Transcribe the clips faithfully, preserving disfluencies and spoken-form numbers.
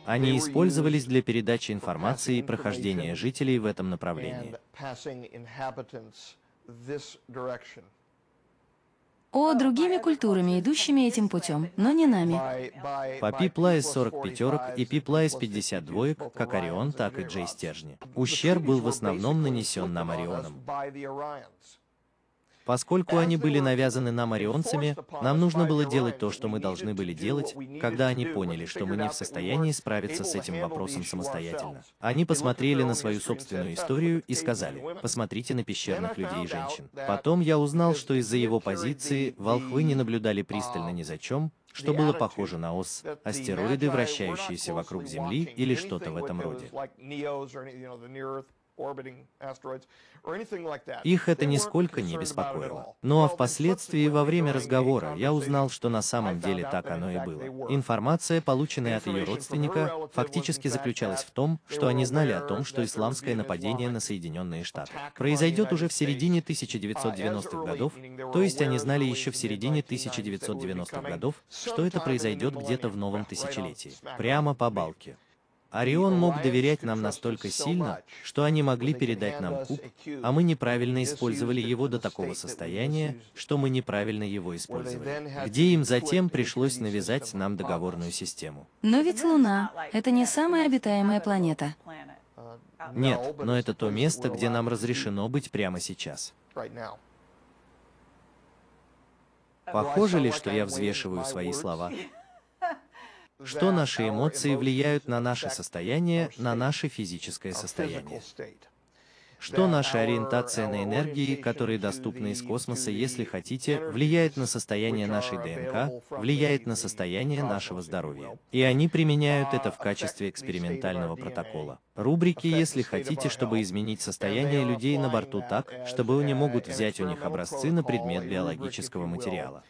Они использовались для передачи информации и прохождения жителей в этом направлении. О, другими культурами, идущими этим путем, но не нами. По Пи-Плайс сорок пятерок и Пи-Плайс пятьдесят двоек, как Орион, так и Джей стержни. Ущерб был в основном нанесен нам Орионом. Поскольку они были навязаны нам орионцами, нам нужно было делать то, что мы должны были делать, когда они поняли, что мы не в состоянии справиться с этим вопросом самостоятельно. Они посмотрели на свою собственную историю и сказали: посмотрите на пещерных людей и женщин. Потом я узнал, что из-за его позиции волхвы не наблюдали пристально ни за чем, что было похоже на ос, астероиды, вращающиеся вокруг Земли или что-то в этом роде. Их это нисколько не беспокоило. Ну а впоследствии, во время разговора, я узнал, что на самом деле так оно и было. Информация, полученная от ее родственника, фактически заключалась в том, что они знали о том, что исламское нападение на Соединенные Штаты произойдет уже в середине тысяча девятьсот девяностых годов, то есть они знали еще в середине тысяча девятьсот девяностых годов, что это произойдет где-то в новом тысячелетии, прямо по балке. Орион мог доверять нам настолько сильно, что они могли передать нам куб, а мы неправильно использовали его до такого состояния, что мы неправильно его использовали, где им затем пришлось навязать нам договорную систему. Но ведь Луна — это не самая обитаемая планета. Нет, но это то место, где нам разрешено быть прямо сейчас. Похоже ли, что я взвешиваю свои слова? Что наши эмоции влияют на наше состояние, на наше физическое состояние? Что наша ориентация на энергии, которые доступны из космоса, если хотите, влияет на состояние нашей ДНК, влияет на состояние нашего здоровья. И они применяют это в качестве экспериментального протокола. Рубрики, если хотите, чтобы изменить состояние людей на борту так, чтобы они могут взять у них образцы на предмет биологического материала.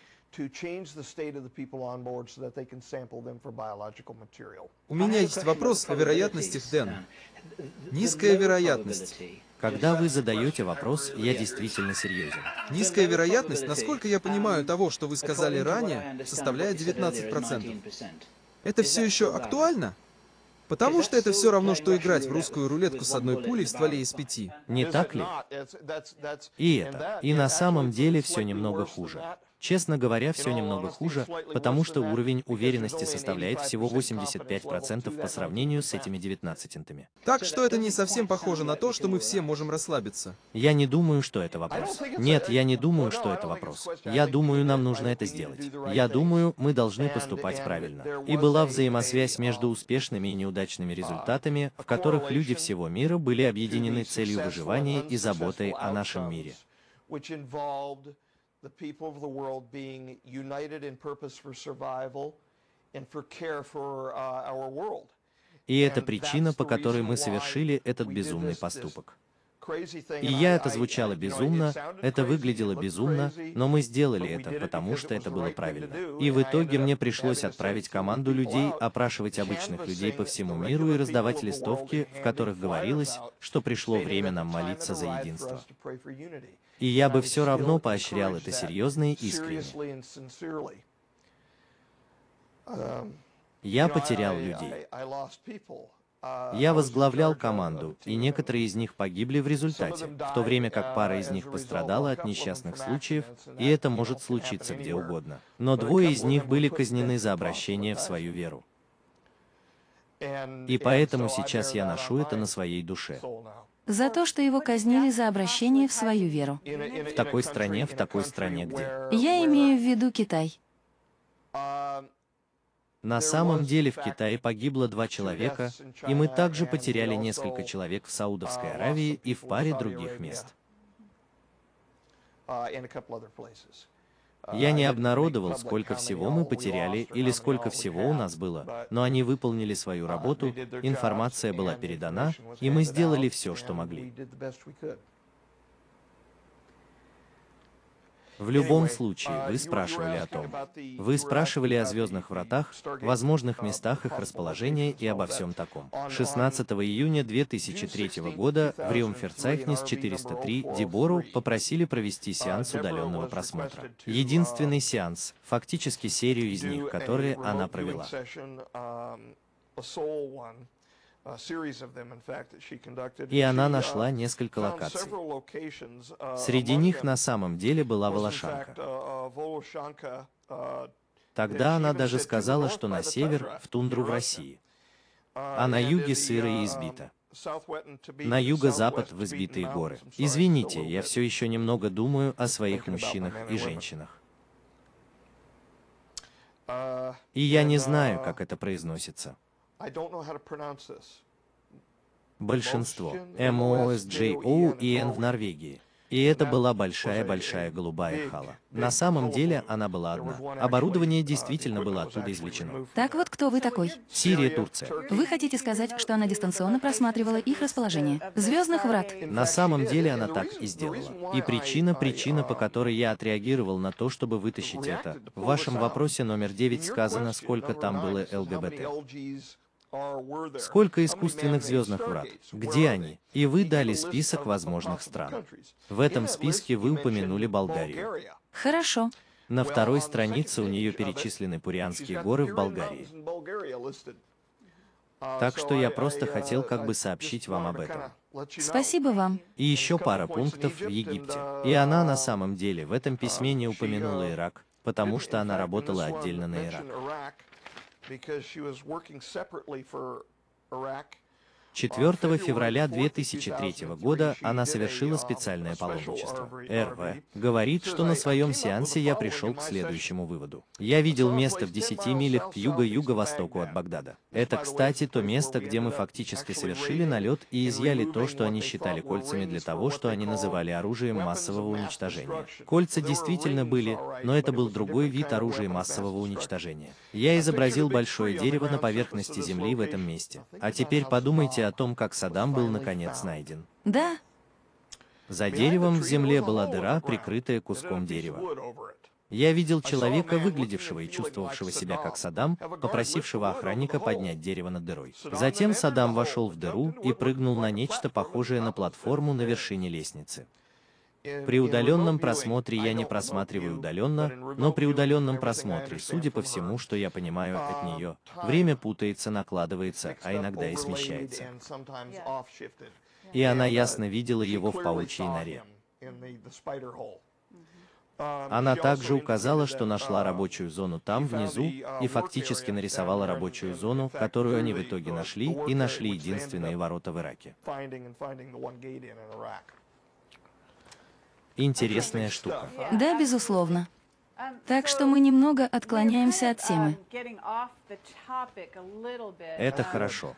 У меня есть вопрос о вероятностях, Дэн. Низкая вероятность. Когда вы задаете вопрос, я действительно серьезен. Низкая вероятность, насколько я понимаю того, что вы сказали ранее, составляет девятнадцать процентов. Это все еще актуально? Потому что это все равно, что играть в русскую рулетку с одной пулей в стволе из пяти. Не так ли? И это. И на самом деле все немного хуже. Честно говоря, все немного хуже, потому что уровень уверенности составляет всего восемьдесят пять процентов по сравнению с этими девятнадцатыми. Так что это не совсем похоже на то, что мы все можем расслабиться. Я не думаю, что это вопрос. Нет, я не думаю, что это вопрос. Я думаю, нам нужно это сделать. Я думаю, мы должны поступать правильно. И была взаимосвязь между успешными и неудачными результатами, в которых люди всего мира были объединены целью выживания и заботой о нашем мире. The people of the world being united in purpose for survival and for care for uh, our world. И это причина, по которой мы совершили этот безумный поступок. И я, это звучало безумно, это выглядело безумно, но мы сделали это, потому что это было правильно. И в итоге мне пришлось отправить команду людей, опрашивать обычных людей по всему миру и раздавать листовки, в которых говорилось, что пришло время нам молиться за единство. И я бы все равно поощрял это серьезно и искренне. Я потерял людей. Я возглавлял команду, и некоторые из них погибли в результате, в то время как пара из них пострадала от несчастных случаев, и это может случиться где угодно. Но двое из них были казнены за обращение в свою веру. И поэтому сейчас я ношу это на своей душе. За то, что его казнили за обращение в свою веру. В такой стране, в такой стране, где? Я имею в виду Китай. На самом деле в Китае погибло два человека, и мы также потеряли несколько человек в Саудовской Аравии и в паре других мест. Я не обнародовал, сколько всего мы потеряли или сколько всего у нас было, но они выполнили свою работу, информация была передана, и мы сделали все, что могли. В любом случае, вы спрашивали о том. Вы спрашивали о звездных вратах, возможных местах их расположения и обо всем таком. шестнадцатого июня две тысячи третьего года в Риумферцайхнис четыреста три Дебору попросили провести сеанс удаленного просмотра. Единственный сеанс, фактически серию из них, которые она провела. И она нашла несколько локаций. Среди них на самом деле была Волошанка. Тогда она даже сказала, что на север, в тундру в России, а на юге сыро и избито. На юго-запад в избитые горы. Извините, я все еще немного думаю о своих мужчинах и женщинах. И я не знаю, как это произносится. Большинство. эм о эс джей о и эн в Норвегии. И это была большая-большая голубая хала. На самом деле она была одна. Оборудование действительно было оттуда извлечено. Так вот, кто вы такой? Сирия, Турция. Вы хотите сказать, что она дистанционно просматривала их расположение? Звездных врат. На самом деле она так и сделала. И причина, причина, по которой я отреагировал на то, чтобы вытащить это. В вашем вопросе номер девять сказано, сколько там было эл гэ бэ тэ. Сколько искусственных звездных врат? Где они? И вы дали список возможных стран. В этом списке вы упомянули Болгарию. Хорошо. На второй странице у нее перечислены Пурянские горы в Болгарии. Так что я просто хотел как бы сообщить вам об этом. Спасибо вам. И еще пара пунктов в Египте. И она на самом деле в этом письме не упомянула Ирак, потому что она работала отдельно на Ирак. четвёртого февраля две тысячи третьего года она совершила специальное паломничество. эр вэ говорит, что на своем сеансе я пришел к следующему выводу. Я видел место в десяти милях к юго-юго-востоку от Багдада. Это, кстати, то место, где мы фактически совершили налет и изъяли то, что они считали кольцами для того, что они называли оружием массового уничтожения. Кольца действительно были, но это был другой вид оружия массового уничтожения. Я изобразил большое дерево на поверхности земли в этом месте. А теперь подумайте о том, как Саддам был наконец найден. Да. За деревом в земле была дыра, прикрытая куском дерева. Я видел человека, выглядевшего и чувствовавшего себя как Саддам, попросившего охранника поднять дерево над дырой. Затем Саддам вошел в дыру и прыгнул на нечто похожее на платформу на вершине лестницы. При удаленном просмотре я не просматриваю удаленно, но при удаленном просмотре, судя по всему, что я понимаю от нее, время путается, накладывается, а иногда и смещается. И она ясно видела его в паучьей норе. Она также указала, что нашла рабочую зону там, внизу, и фактически нарисовала рабочую зону, которую они в итоге нашли, и нашли единственные ворота в Ираке. Интересная штука. Да, безусловно. Так что мы немного отклоняемся от темы. Это хорошо.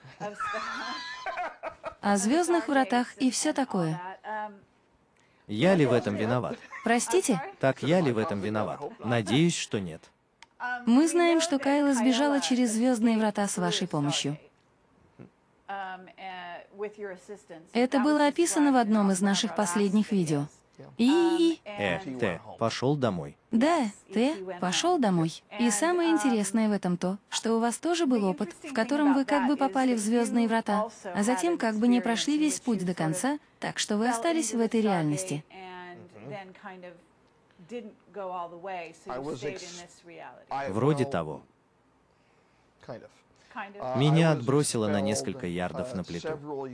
О звездных вратах и все такое. Я ли в этом виноват? Простите? Так я ли в этом виноват? Надеюсь, что нет. Мы знаем, что Кайла сбежала через звездные врата с вашей помощью. Это было описано в одном из наших последних видео. И... Э, Т, пошел домой. Да, Т, пошел домой. И самое интересное в этом то, что у вас тоже был опыт, в котором вы как бы попали в звездные врата, а затем как бы не прошли весь путь до конца, так что вы остались в этой реальности. Вроде того. Меня отбросило на несколько ярдов на плиту.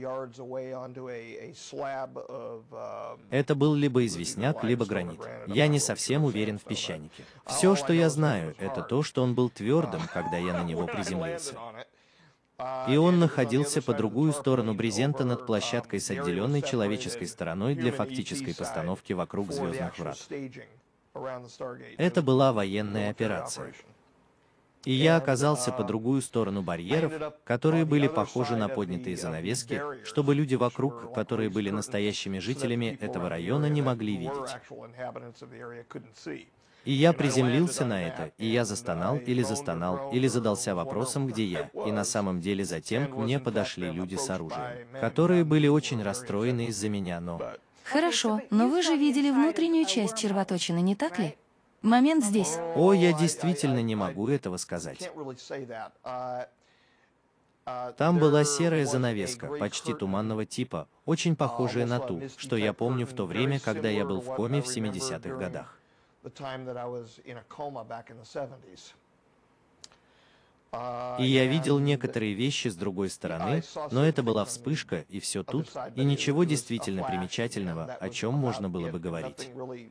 Это был либо известняк, либо гранит. Я не совсем уверен в песчанике. Все, что я знаю, это то, что он был твердым, когда я на него приземлился. И он находился по другую сторону брезента над площадкой с отделенной человеческой стороной для фактической постановки вокруг звездных врат. Это была военная операция. И я оказался по другую сторону барьеров, которые были похожи на поднятые занавески, чтобы люди вокруг, которые были настоящими жителями этого района, не могли видеть. И я приземлился на это, и я застонал или застонал, или задался вопросом, где я, и на самом деле затем к мне подошли люди с оружием, которые были очень расстроены из-за меня, но... Хорошо, но вы же видели внутреннюю часть червоточины, не так ли? Момент здесь. О, я действительно не могу этого сказать. Там была серая занавеска, почти туманного типа, очень похожая на ту, что я помню в то время, когда я был в коме в семидесятых годах. И я видел некоторые вещи с другой стороны, но это была вспышка, и все тут, и ничего действительно примечательного, о чем можно было бы говорить.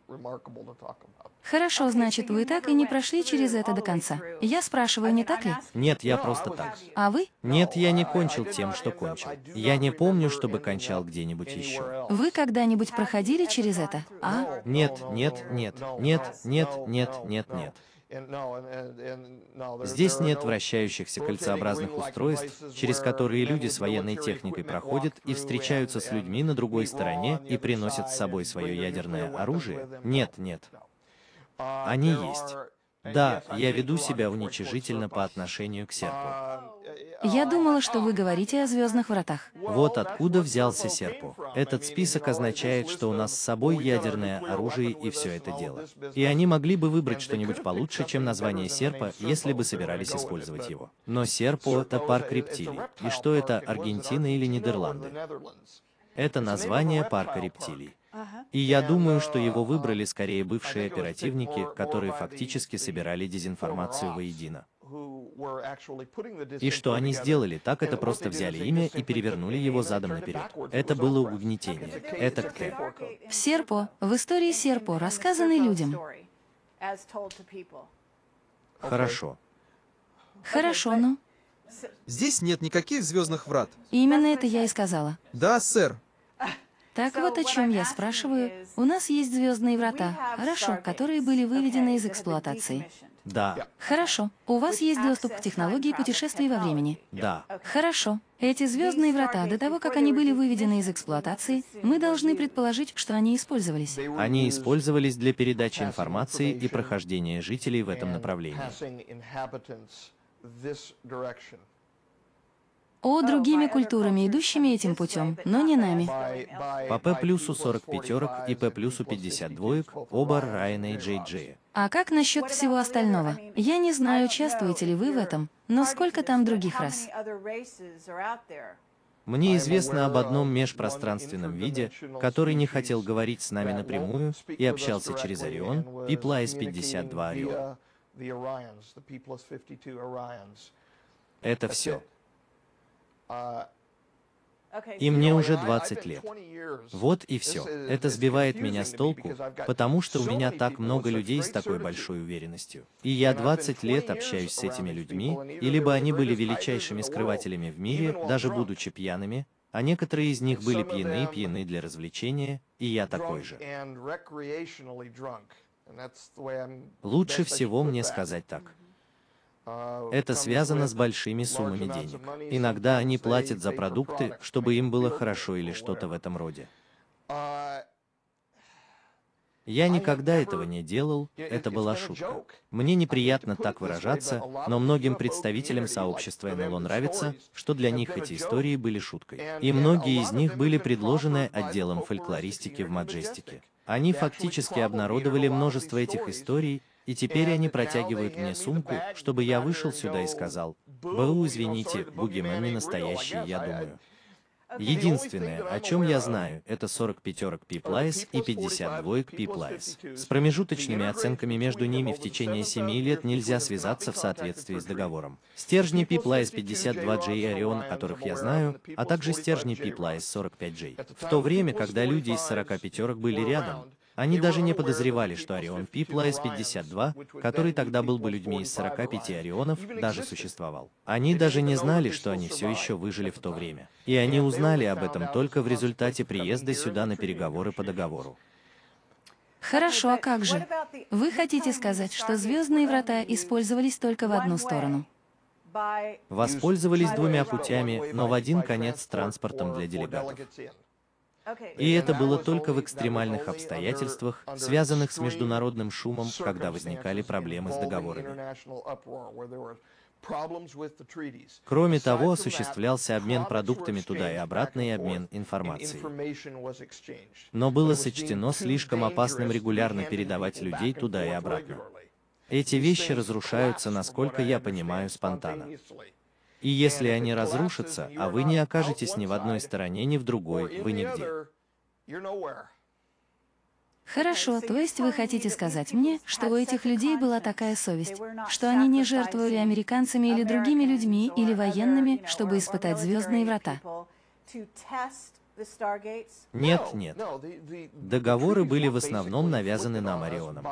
Хорошо, значит, вы так и не прошли через это до конца. Я спрашиваю, не так ли? Нет, я просто так. А вы? Нет, я не кончил тем, что кончил. Я не помню, чтобы кончал где-нибудь еще. Вы когда-нибудь проходили через это? А? Нет, нет, нет, нет, нет, нет, нет, нет. Здесь нет вращающихся кольцеобразных устройств, через которые люди с военной техникой проходят и встречаются с людьми на другой стороне и приносят с собой свое ядерное оружие. Нет, нет. Они есть. Да, я веду себя уничижительно по отношению к серпу. Я думала, что вы говорите о звездных вратах. Вот откуда взялся серпу. Этот список означает, что у нас с собой ядерное оружие и все это дело. И они могли бы выбрать что-нибудь получше, чем название серпа, если бы собирались использовать его. Но серпу — это парк рептилий. И что это, Аргентина или Нидерланды? Это название парка рептилий. И я думаю, что его выбрали скорее бывшие оперативники, которые фактически собирали дезинформацию воедино. И что они сделали, так это просто взяли имя и перевернули его задом наперед. Это было угнетение. Это КТ. В Серпо, в истории Серпо, рассказанной людям. Хорошо. Хорошо, ну. Здесь нет никаких звездных врат. Именно это я и сказала. Да, сэр. Так вот о чем я спрашиваю. У нас есть звездные врата, хорошо, которые были выведены из эксплуатации. Да, Хорошо. У вас есть доступ к технологии путешествий во времени. да. Хорошо. Эти звездные врата, до того, как они были выведены из эксплуатации, мы должны предположить, что они использовались. Они использовались для передачи информации и прохождения жителей в этом направлении. О, другими культурами, идущими этим путем, но не нами. По П плюсу сорок пятерок и П плюсу пятьдесят двоек, оба Райана и Джей Джея. А как насчет всего остального? Я не знаю, участвуете ли вы в этом, но сколько там других рас? Мне известно об одном межпространственном виде, который не хотел говорить с нами напрямую и общался через Орион, Пи плюс пятьдесят два Орион. Это все. И мне уже двадцать лет. Вот и все. Это сбивает меня с толку, потому что у меня так много людей с такой большой уверенностью. И я двадцать лет общаюсь с этими людьми, и либо они были величайшими скрывателями в мире, даже будучи пьяными, а некоторые из них были пьяны и пьяны для развлечения, и я такой же. Лучше всего мне сказать так. Это связано с большими суммами денег. Иногда они платят за продукты, чтобы им было хорошо или что-то в этом роде. Я никогда этого не делал, это была шутка. Мне неприятно так выражаться, но многим представителям сообщества эн эл о нравится, что для них эти истории были шуткой. И многие из них были предложены отделом фольклористики в Маджестике. Они фактически обнародовали множество этих историй, и теперь они протягивают мне сумку, чтобы я вышел сюда и сказал: «Бу, извините, бугимен не настоящий, я думаю». Единственное, о чем я знаю, это сорок пятерок Пи плюс и пятьдесят двоек Пи плюс. С промежуточными оценками между ними в течение семи лет нельзя связаться в соответствии с договором. Стержни Пи плюс пятьдесят два Джей и Орион, которых я знаю, а также стержни Пи плюс сорок пять Джей. В то время, когда люди из сорока пятерок были рядом, они даже не подозревали, что Орион Пи плюс пятьдесят два, который тогда был бы людьми из сорока пяти Орионов, даже существовал. Они даже не знали, что они все еще выжили в то время. И они узнали об этом только в результате приезда сюда на переговоры по договору. Хорошо, а как же? Вы хотите сказать, что звездные врата использовались только в одну сторону? Воспользовались двумя путями, но в один конец транспортом для делегатов. И это было только в экстремальных обстоятельствах, связанных с международным шумом, когда возникали проблемы с договорами. Кроме того, осуществлялся обмен продуктами туда и обратно и обмен информацией. Но было сочтено слишком опасным регулярно передавать людей туда и обратно. Эти вещи разрушаются, насколько я понимаю, спонтанно. И если они разрушатся, а вы не окажетесь ни в одной стороне, ни в другой, вы нигде. Хорошо, то есть вы хотите сказать мне, что у этих людей была такая совесть, что они не жертвовали американцами или другими людьми или военными, чтобы испытать звездные врата? Нет, нет. Договоры были в основном навязаны нам Орионом.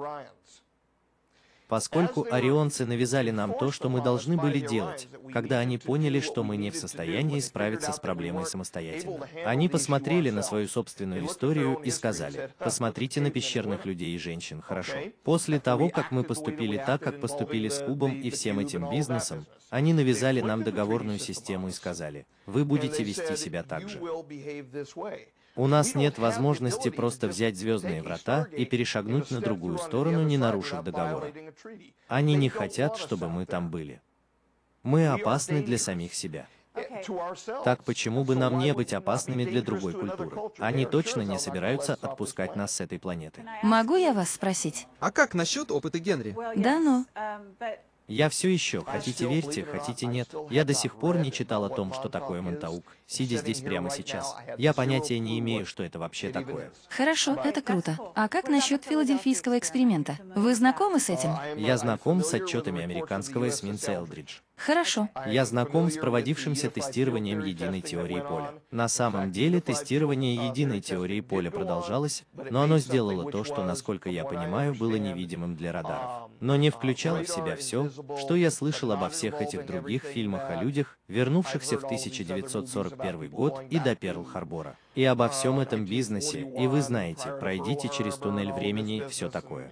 Поскольку орионцы навязали нам то, что мы должны были делать, когда они поняли, что мы не в состоянии справиться с проблемой самостоятельно. Они посмотрели на свою собственную историю и сказали: посмотрите на пещерных людей и женщин, хорошо. После того, как мы поступили так, как поступили с Кубом и всем этим бизнесом, они навязали нам договорную систему и сказали: вы будете вести себя так же. У нас нет возможности просто взять звездные врата и перешагнуть на другую сторону, не нарушив договора. Они не хотят, чтобы мы там были. Мы опасны для самих себя. Так почему бы нам не быть опасными для другой культуры? Они точно не собираются отпускать нас с этой планеты. Могу я вас спросить? А как насчет опыта Генри? Да, но... Я все еще, хотите верьте, хотите нет, я до сих пор не читал о том, что такое Монтаук, сидя здесь прямо сейчас. Я понятия не имею, что это вообще такое. Хорошо, это круто. А как насчет филадельфийского эксперимента? Вы знакомы с этим? Я знаком с отчетами американского эсминца Элдридж. Хорошо. Я знаком с проводившимся тестированием единой теории поля. На самом деле, тестирование единой теории поля продолжалось, но оно сделало то, что, насколько я понимаю, было невидимым для радаров. Но не включало в себя все, что я слышал обо всех этих других фильмах о людях, вернувшихся в тысяча девятьсот сорок первый год и до Перл-Харбора. И обо всем этом бизнесе, и вы знаете, пройдите через туннель времени и все такое.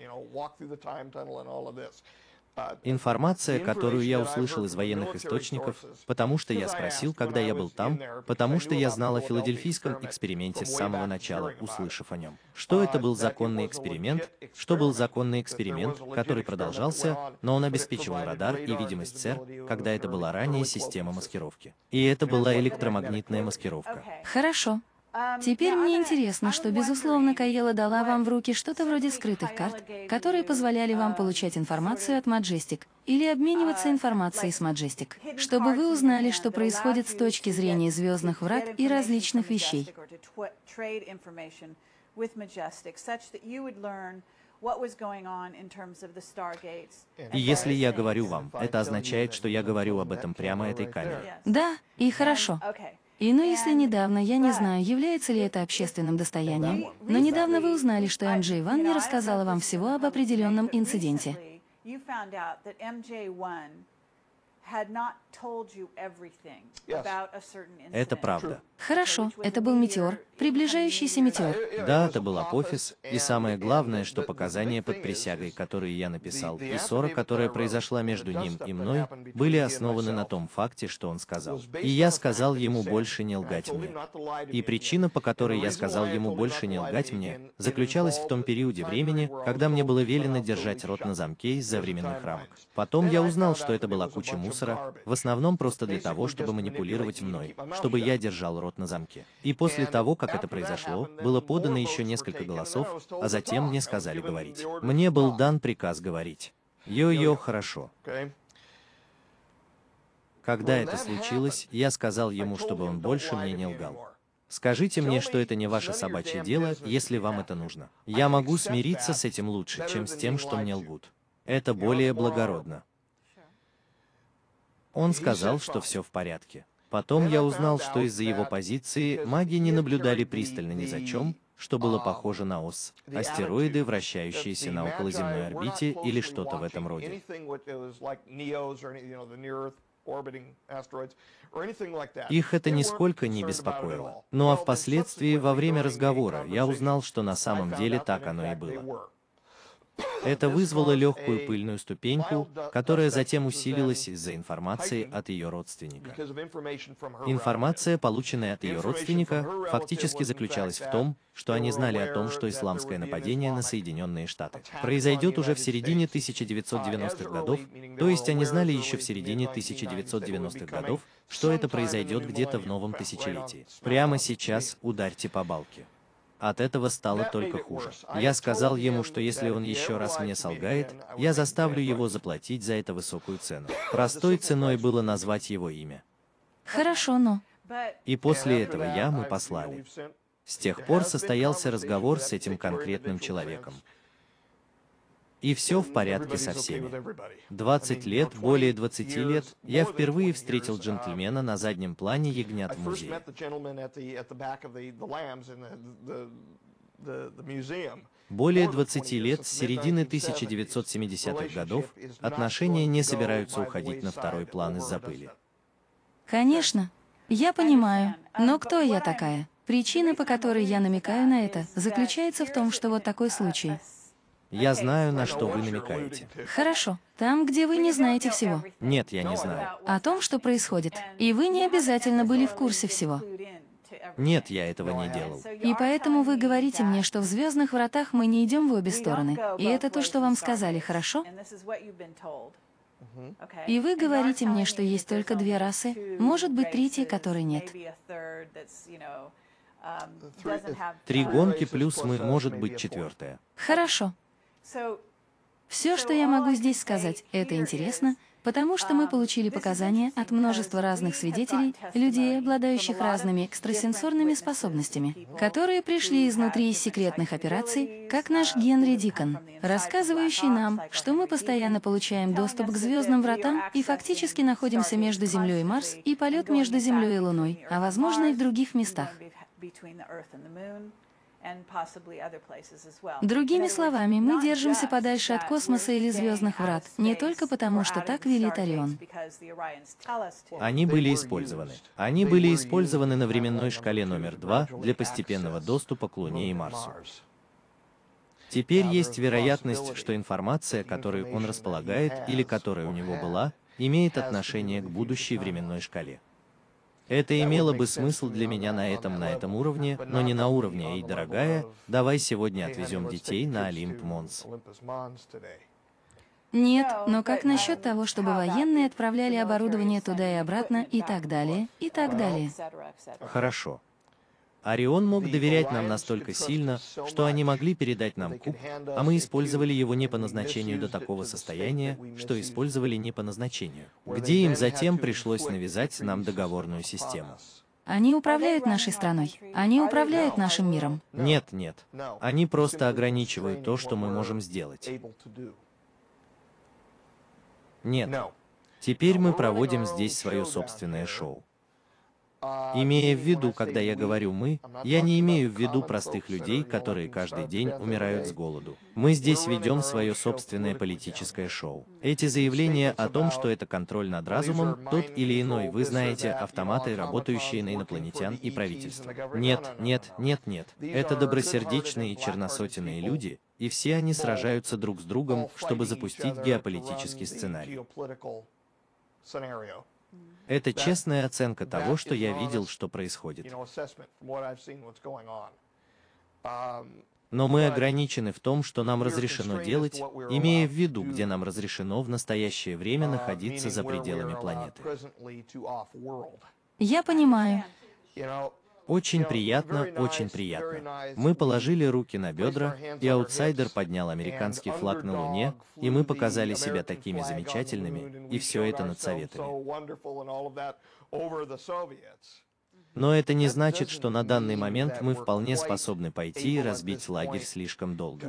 Информация, которую я услышал из военных источников, потому что я спросил, когда я был там, потому что я знал о филадельфийском эксперименте с самого начала, услышав о нем. Что это был законный эксперимент, что был законный эксперимент, который продолжался, но он обеспечивал радар и видимость СЭР, когда это была ранее система маскировки. И это была электромагнитная маскировка. Хорошо. Теперь мне интересно, что, безусловно, Кайела дала вам в руки что-то вроде скрытых карт, которые позволяли вам получать информацию от Majestic или обмениваться информацией с Majestic, чтобы вы узнали, что происходит с точки зрения звездных врат и различных вещей. И если я говорю вам, это означает, что я говорю об этом прямо этой камере. Да, и хорошо. И ну, если недавно, я не знаю, является ли это общественным достоянием, но недавно вы узнали, что эм джей Ван не рассказала вам всего об определенном инциденте. Это правда. Хорошо, это был метеор, приближающийся метеор. Да, это был апофис, и самое главное, что показания под присягой, которые я написал, и ссора, которая произошла между ним и мной, были основаны на том факте, что он сказал. И я сказал ему больше не лгать мне. И причина, по которой я сказал ему больше не лгать мне, заключалась в том периоде времени, когда мне было велено держать рот на замке из-за временных рамок. Потом я узнал, что это была куча мусора, в основном просто для того, чтобы манипулировать мной, чтобы я держал рот на замке. И после того, как это произошло, было подано еще несколько голосов, а затем мне сказали говорить. Мне был дан приказ говорить. Йо-йо, хорошо. Когда это случилось, я сказал ему, чтобы он больше мне не лгал. Скажите мне, что это не ваше собачье дело, если вам это нужно. Я могу смириться с этим лучше, чем с тем, что мне лгут. Это более благородно. Он сказал, что все в порядке. Потом я узнал, что из-за его позиции маги не наблюдали пристально ни за чем, что было похоже на ос, астероиды, вращающиеся на околоземной орбите или что-то в этом роде. Их это нисколько не беспокоило. Ну а впоследствии, во время разговора, я узнал, что на самом деле так оно и было. Это вызвало легкую пыльную ступеньку, которая затем усилилась из-за информации от ее родственника. Информация, полученная от ее родственника, фактически заключалась в том, что они знали о том, что исламское нападение на Соединенные Штаты произойдет уже в середине тысяча девятьсот девяностых годов, то есть они знали еще в середине тысяча девятьсот девяностых годов, что это произойдет где-то в новом тысячелетии. Прямо сейчас ударьте по балке. От этого стало только хуже. Я сказал ему, что если он еще раз мне солгает, я заставлю его заплатить за это высокую цену. Простой ценой было назвать его имя. Хорошо, но... И после этого я мы послали. С тех пор состоялся разговор с этим конкретным человеком. И все в порядке со всеми. двадцать лет, более двадцати лет, я впервые встретил джентльмена на заднем плане ягнят в музее. Более двадцати лет, с середины тысяча девятьсот семидесятых годов, отношения не собираются уходить на второй план из-за пыли. Конечно, я понимаю, но кто я такая? Причина, по которой я намекаю на это, заключается в том, что вот такой случай. Я знаю, на что вы намекаете. Хорошо, там, где вы не знаете всего. Нет, я не знаю. О том, что происходит. И вы не обязательно были в курсе всего. Нет, я этого не делал. И поэтому вы говорите мне, что в «Звездных вратах» мы не идем в обе стороны. И это то, что вам сказали, хорошо? И вы говорите мне, что есть только две расы, может быть, третьей, которой нет. Три гонки плюс мы, может быть, четвертая. Хорошо. Все, что я могу здесь сказать, это интересно, потому что мы получили показания от множества разных свидетелей, людей, обладающих разными экстрасенсорными способностями, которые пришли изнутри из секретных операций, как наш Генри Дикон, рассказывающий нам, что мы постоянно получаем доступ к звездным вратам и фактически находимся между Землей и Марс, и полет между Землей и Луной, а возможно и в других местах. Другими словами, мы держимся подальше от космоса или звездных врат, не только потому, что так велит Орион. Они были использованы. Они были использованы на временной шкале номер два для постепенного доступа к Луне и Марсу. Теперь есть вероятность, что информация, которой он располагает или которая у него была, имеет отношение к будущей временной шкале. Это имело бы смысл для меня на этом, на этом уровне, но не на уровне «Эй, дорогая, давай сегодня отвезем детей на Олимп Монс». Нет, но как насчет того, чтобы военные отправляли оборудование туда и обратно, и так далее, и так далее? Хорошо. Орион мог доверять нам настолько сильно, что они могли передать нам куб, а мы использовали его не по назначению до такого состояния, что использовали не по назначению, где им затем пришлось навязать нам договорную систему. Они управляют нашей страной. Они управляют нашим миром. Нет, нет. Они просто ограничивают то, что мы можем сделать. Нет. Теперь мы проводим здесь свое собственное шоу. Имея в виду, когда я говорю «мы», я не имею в виду простых людей, которые каждый день умирают с голоду. Мы здесь ведем свое собственное политическое шоу. Эти заявления о том, что это контроль над разумом, тот или иной, вы знаете, автоматы, работающие на инопланетян и правительство. Нет, нет, нет, нет. Это добросердечные и черносотенные люди, и все они сражаются друг с другом, чтобы запустить геополитический сценарий. Это честная оценка того, что я видел, что происходит. Но мы ограничены в том, что нам разрешено делать, имея в виду, где нам разрешено в настоящее время находиться за пределами планеты. Я понимаю. Очень приятно, очень приятно. Мы положили руки на бедра, и аутсайдер поднял американский флаг на Луне, и мы показали себя такими замечательными, и все это над Советами. Но это не значит, что на данный момент мы вполне способны пойти и разбить лагерь слишком долго.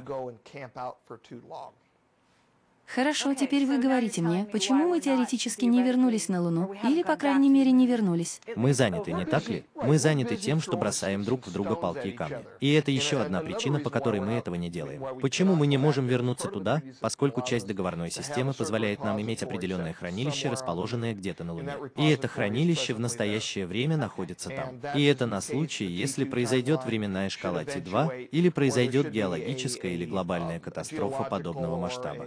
Хорошо, теперь вы говорите мне, почему мы теоретически не вернулись на Луну, или, по крайней мере, не вернулись. Мы заняты, не так ли? Мы заняты тем, что бросаем друг в друга палки и камни. И это еще одна причина, по которой мы этого не делаем. Почему мы не можем вернуться туда? Поскольку часть договорной системы позволяет нам иметь определенное хранилище, расположенное где-то на Луне. И это хранилище в настоящее время находится там. И это на случай, если произойдет временная шкала Ти два, или произойдет геологическая или глобальная катастрофа подобного масштаба.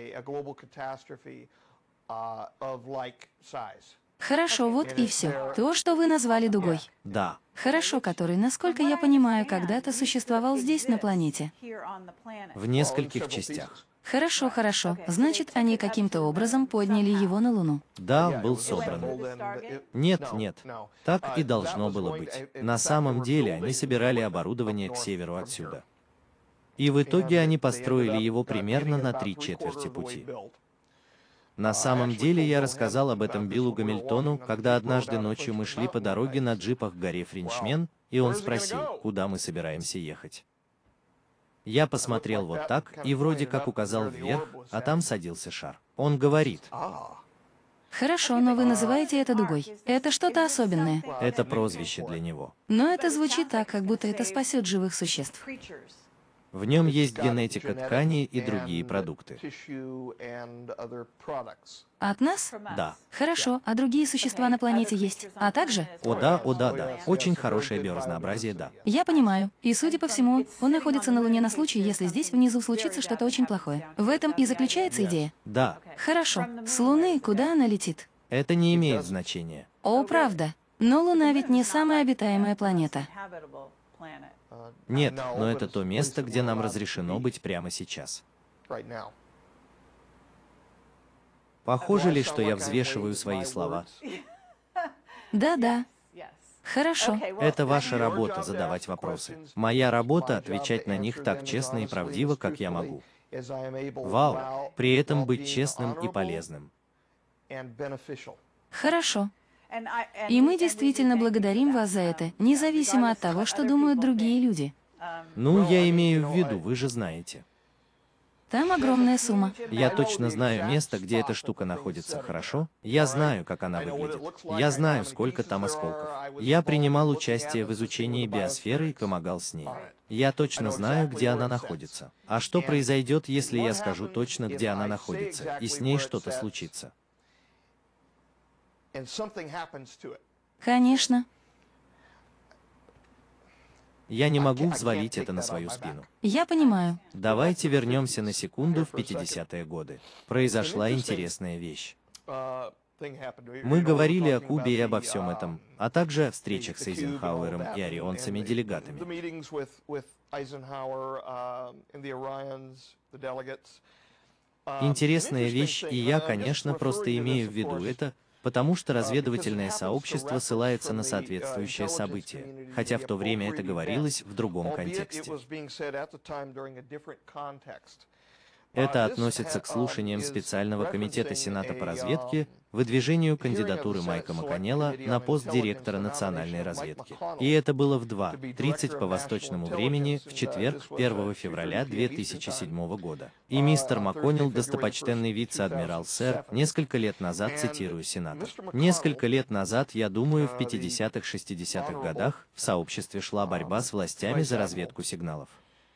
Хорошо, вот и все. То, что вы назвали дугой. Да. Хорошо, который, насколько я понимаю, когда-то существовал здесь, на планете. В нескольких частях. Хорошо, хорошо. Значит, они каким-то образом подняли его на Луну. Да, был собран. Нет, нет. Так и должно было быть. На самом деле, они собирали оборудование к северу отсюда. И в итоге они построили его примерно на три четверти пути. На самом деле я рассказал об этом Биллу Гамильтону, когда однажды ночью мы шли по дороге на джипах к горе Френчмен, и он спросил, куда мы собираемся ехать. Я посмотрел вот так и вроде как указал вверх, а там садился шар. Он говорит: Хорошо, но вы называете это дугой. Это что-то особенное. это прозвище для него. Но это звучит так, как будто это спасет живых существ. В нем есть генетика тканей и другие продукты. От нас? Да. Хорошо, а другие существа на планете есть? А также? О да, о да, да. Очень хорошее биоразнообразие, да. Я понимаю. И, судя по всему, он находится на Луне на случай, если здесь внизу случится что-то очень плохое. В этом и заключается идея. Да, Хорошо. С Луны куда она летит? это не имеет значения. О, правда. Но Луна ведь не самая обитаемая планета. Нет, но это то место, где нам разрешено быть прямо сейчас. Похоже ли, что я взвешиваю свои слова? Да-да. Хорошо. Это ваша работа — задавать вопросы. Моя работа — отвечать на них так честно и правдиво, как я могу. Вау! При этом быть честным и полезным. Хорошо. И мы действительно благодарим вас за это, независимо от того, что думают другие люди. Ну, я имею в виду, вы же знаете. Там огромная сумма. Я точно знаю место, где эта штука находится, хорошо? Я знаю, как она выглядит. Я знаю, сколько там осколков. Я принимал участие в изучении биосферы и помогал с ней. Я точно знаю, где она находится. А что произойдет, если я скажу точно, где она находится, и с ней что-то случится? Конечно. Я не могу взвалить это на свою спину. Я понимаю. Давайте вернемся на секунду в пятидесятые годы. Произошла интересная вещь. Мы говорили о Кубе и обо всем этом, а также о встречах с Эйзенхауэром и орионцами-делегатами. Интересная вещь, и я, конечно, просто имею в виду это, потому что разведывательное сообщество ссылается на соответствующее событие, хотя в то время это говорилось в другом контексте. Это относится к слушаниям специального комитета Сената по разведке, выдвижению кандидатуры Майка МакКоннелла на пост директора национальной разведки. И это было в два тридцать по восточному времени в четверг, первого февраля две тысячи седьмого года. И мистер МакКоннелл, достопочтенный вице-адмирал сэр, несколько лет назад, цитирую сенатор, «Несколько лет назад, я думаю, в пятидесятых-шестидесятых годах в сообществе шла борьба с властями за разведку сигналов».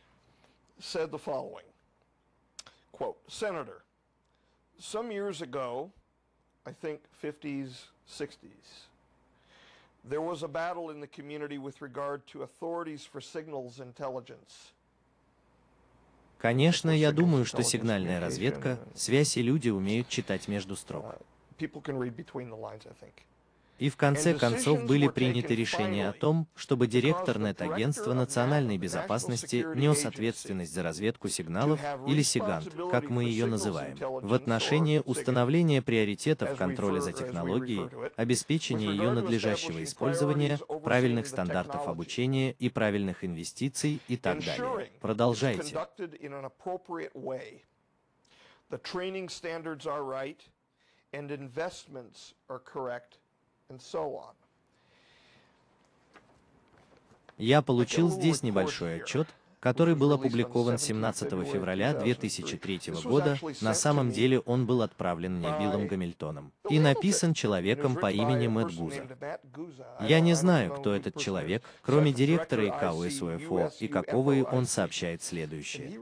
Quote, Senator, some years ago, I think fifties, sixties, there was a battle in the community with regard to authorities for signals intelligence. Конечно, я думаю, что сигнальная разведка, связь и люди умеют читать между строк. People can read between the lines, I think. И в конце концов были приняты решения о том, чтобы директор Нет-агентства национальной безопасности нес ответственность за разведку сигналов, или сигант, как мы ее называем, в отношении установления приоритетов контроля за технологией, обеспечения ее надлежащего использования, правильных стандартов обучения и правильных инвестиций и так далее. Продолжайте. Я получил здесь небольшой отчет, который был опубликован семнадцатого февраля две тысячи третьего года. На самом деле он был отправлен мне Биллом Гамильтоном и написан человеком по имени Мэтт Гуза. Я не знаю, кто этот человек, кроме директора И К У С У Ф О, и какого он сообщает следующее.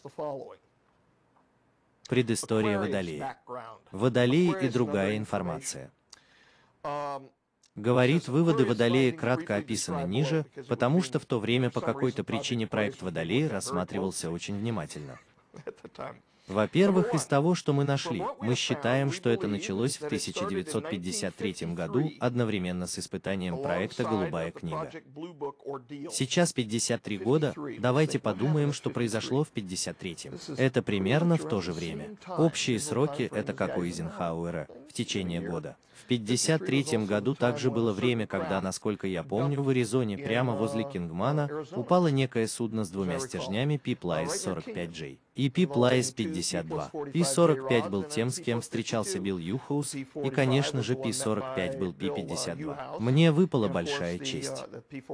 Предыстория Водолея. Водолей и другая информация. Говорит, выводы Водолея кратко описаны ниже, потому что в то время по какой-то причине проект Водолея рассматривался очень внимательно. Во-первых, из того, что мы нашли, мы считаем, что это началось в тысяча девятьсот пятьдесят третьем году одновременно с испытанием проекта «Голубая книга». Сейчас пятьдесят три года, давайте подумаем, что произошло в пятьдесят третьем. Это примерно в то же время. Общие сроки — это как у Эйзенхауэра, в течение года. В пятьдесят третьем году также было время, когда, насколько я помню, в Аризоне, прямо возле Кингмана, упало некое судно с двумя стержнями Пиплайс сорок пять Джей. и пи Плайс пятьдесят два. пи сорок пять был тем, с кем встречался Билл Юхоус, и, конечно же, пи сорок пять был пи пятьдесят два. Мне выпала большая честь.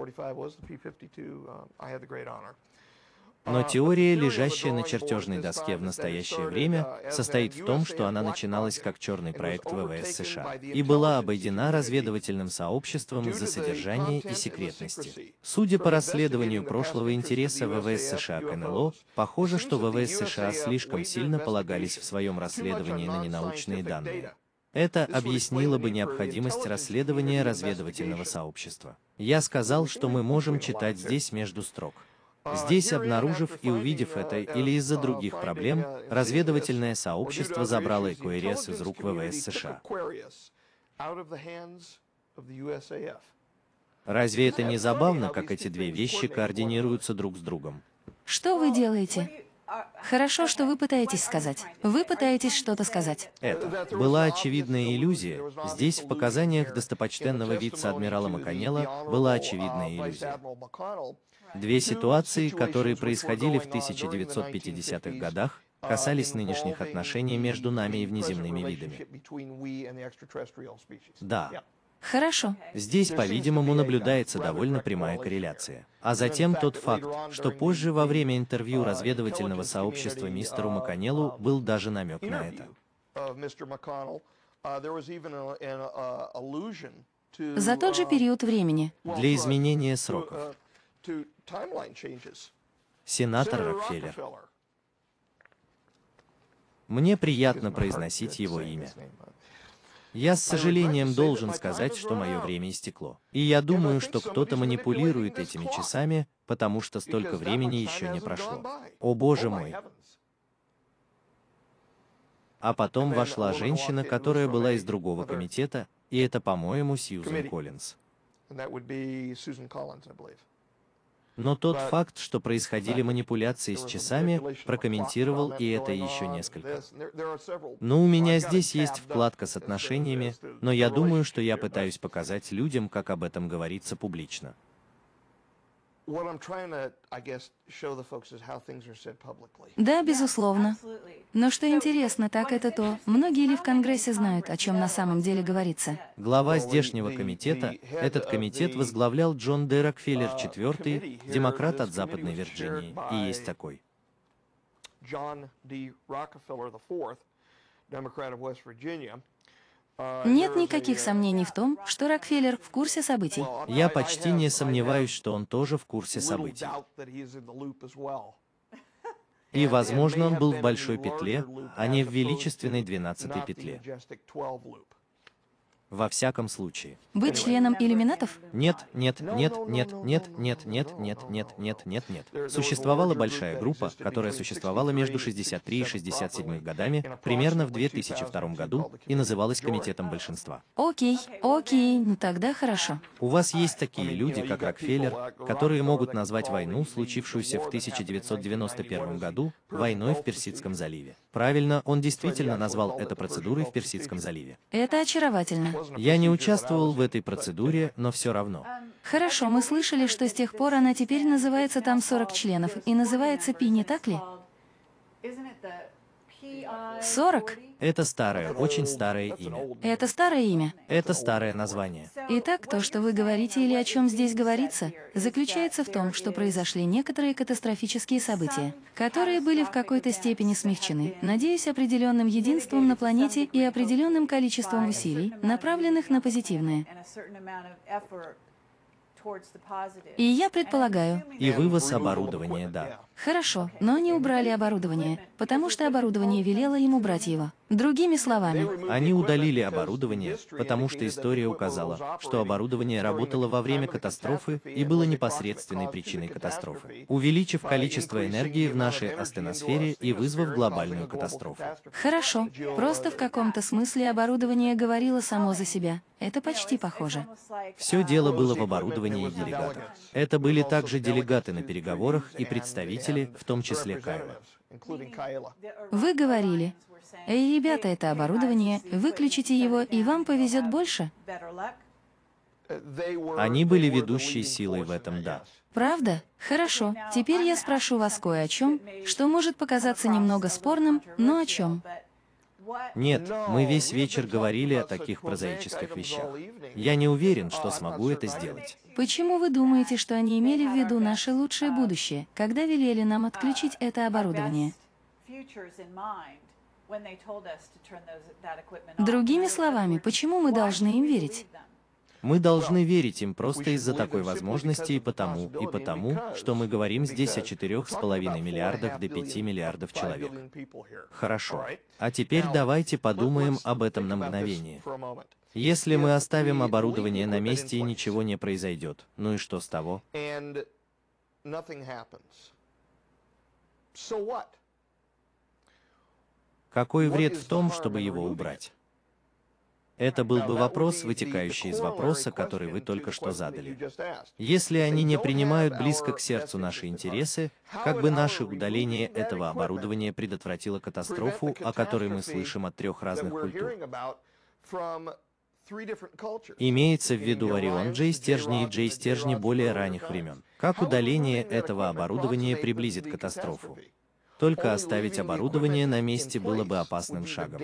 Но теория, лежащая на чертежной доске в настоящее время, состоит в том, что она начиналась как черный проект ВВС США и была обойдена разведывательным сообществом из-за содержания и секретности. Судя по расследованию прошлого интереса ВВС США к эн эл о, похоже, что ВВС США слишком сильно полагались в своем расследовании на ненаучные данные. Это объяснило бы необходимость расследования разведывательного сообщества. Я сказал, что мы можем читать здесь между строк. Здесь, обнаружив и увидев это или из-за других проблем, разведывательное сообщество забрало Aquarius из рук ВВС США. Разве это не забавно, как эти две вещи координируются друг с другом? Что вы делаете? Хорошо, что вы пытаетесь сказать. Вы пытаетесь что-то сказать. Это была очевидная иллюзия. Здесь, в показаниях достопочтенного вице-адмирала Макконнелла, была очевидная иллюзия. Две ситуации, которые происходили в тысяча девятьсот пятидесятых годах, касались нынешних отношений между нами и внеземными видами. Да. Хорошо. Здесь, по-видимому, наблюдается довольно прямая корреляция. А затем тот факт, что позже во время интервью разведывательного сообщества мистеру Макконнеллу был даже намек на это. За тот же период времени. Для изменения сроков. Сенатор Рокфеллер. Мне приятно произносить его имя. Я с сожалением должен сказать, что мое время истекло. И я думаю, что кто-то манипулирует этими часами, потому что столько времени еще не прошло. О боже мой! А потом вошла женщина, которая была из другого комитета, и это, по-моему, Сьюзен Коллинз. Но тот факт, что происходили манипуляции с часами, прокомментировал и это еще несколько. Но у меня здесь есть вкладка с отношениями, но я думаю, что я пытаюсь показать людям, как об этом говорится публично. Да, безусловно. Но что интересно, так это то, многие ли в Конгрессе знают, о чем на самом деле говорится? Глава здешнего комитета, этот комитет возглавлял Джон Д. Рокфеллер четвёртый, демократ от Западной Вирджинии, и есть такой. Нет никаких сомнений в том, что Рокфеллер в курсе событий. Я почти не сомневаюсь, что он тоже в курсе событий. И, возможно, он был в большой петле, а не в величественной двенадцатой петле. Во всяком случае. Быть членом иллюминатов? Нет, нет, нет, нет, нет, нет, нет, нет, нет, нет, нет, нет. Существовала большая группа, которая существовала между шестьдесят три и шестьдесят седьмым годами, примерно в две тысячи втором году, и называлась Комитетом большинства. Окей, окей, ну тогда хорошо. У вас есть такие люди, как Рокфеллер, которые могут назвать войну, случившуюся в тысяча девятьсот девяносто первом году, войной в Персидском заливе. Правильно, он действительно назвал это процедурой в Персидском заливе. Это очаровательно. Я не участвовал в этой процедуре, но все равно. Хорошо, мы слышали, что с тех пор она теперь называется там сорок членов, и называется Пи, не так ли? сорок? Это старое, очень старое имя. Это старое имя. Это старое название. Итак, то, что вы говорите или о чем здесь говорится, заключается в том, что произошли некоторые катастрофические события, которые были в какой-то степени смягчены, надеюсь, определенным единством на планете и определенным количеством усилий, направленных на позитивное. И я предполагаю... И вывоз оборудования, да. Хорошо, но они убрали оборудование, потому что оборудование велело им убрать его. Другими словами... Они удалили оборудование, потому что история указала, что оборудование работало во время катастрофы и было непосредственной причиной катастрофы, увеличив количество энергии в нашей астеносфере и вызвав глобальную катастрофу. Хорошо, просто в каком-то смысле оборудование говорило само за себя. Это почти похоже. Все дело было в оборудовании и делегатах. Это были также делегаты на переговорах и представители, в том числе Кайла. Вы говорили: «Эй, ребята, это оборудование, выключите его, и вам повезет больше». Они были ведущей силой в этом, да. Правда? Хорошо. Теперь я спрошу вас кое о чем, что может показаться немного спорным, но о чем. Нет, мы весь вечер говорили о таких прозаических вещах. Я не уверен, что смогу это сделать. Почему вы думаете, что они имели в виду наше лучшее будущее, когда велели нам отключить это оборудование? Другими словами, почему мы должны им верить? Мы должны верить им просто из-за такой возможности и потому, и потому, что мы говорим здесь о четырёх с половиной миллиардах до пяти миллиардов человек. Хорошо. А теперь давайте подумаем об этом на мгновение. Если мы оставим оборудование на месте и ничего не произойдет, ну и что с того? Какой вред в том, чтобы его убрать? Это был бы вопрос, вытекающий из вопроса, который вы только что задали. Если они не принимают близко к сердцу наши интересы, как бы наше удаление этого оборудования предотвратило катастрофу, о которой мы слышим от трех разных культур? Имеется в виду Орион Джей стержни и Джей стержни более ранних времен. Как удаление этого оборудования приблизит катастрофу? Только оставить оборудование на месте было бы опасным шагом.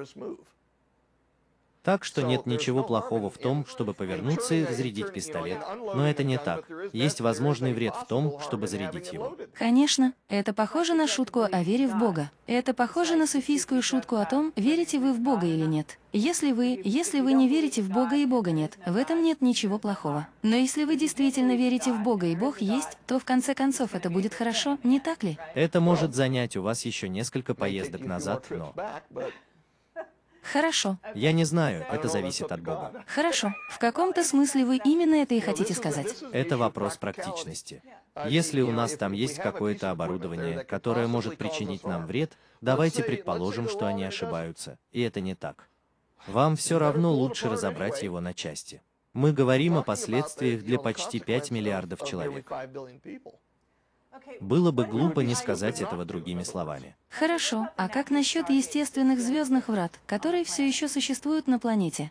Так что нет ничего плохого в том, чтобы повернуться и зарядить пистолет, но это не так. Есть возможный вред в том, чтобы зарядить его. Конечно, это похоже на шутку о вере в Бога. Это похоже на суфийскую шутку о том, верите вы в Бога или нет. Если вы, если вы не верите в Бога и Бога нет, в этом нет ничего плохого. Но если вы действительно верите в Бога и Бог есть, то в конце концов это будет хорошо, не так ли? Это может занять у вас еще несколько поездок назад, но... Хорошо. Я не знаю, это зависит от Бога. Хорошо. В каком-то смысле вы именно это и хотите сказать? Это вопрос практичности. Если у нас там есть какое-то оборудование, которое может причинить нам вред, давайте предположим, что они ошибаются, и это не так. Вам все равно лучше разобрать его на части. Мы говорим о последствиях для почти пяти миллиардов человек. Было бы глупо не сказать этого другими словами. Хорошо, а как насчет естественных звездных врат, которые все еще существуют на планете?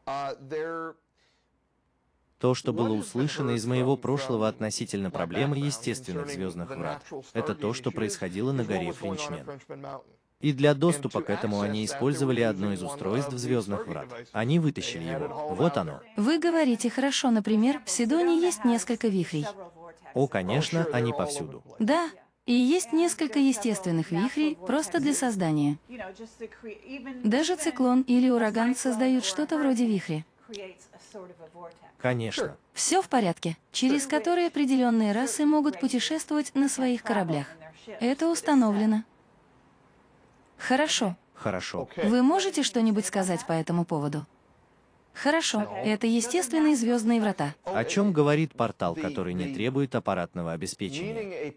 То, что было услышано из моего прошлого относительно проблемы естественных звездных врат, это то, что происходило на горе Френчмен. И для доступа к этому они использовали одно из устройств звездных врат. Они вытащили его. Вот оно. Вы говорите, хорошо, например, в Сидоне есть несколько вихрей. О, конечно, они повсюду. Да, и есть несколько естественных вихрей просто для создания. Даже циклон или ураган создают что-то вроде вихря. Конечно. Все в порядке, через которые определенные расы могут путешествовать на своих кораблях. Это установлено. Хорошо. Хорошо. Вы можете что-нибудь сказать по этому поводу? Хорошо, это естественные звездные врата. О чем говорит портал, который не требует аппаратного обеспечения?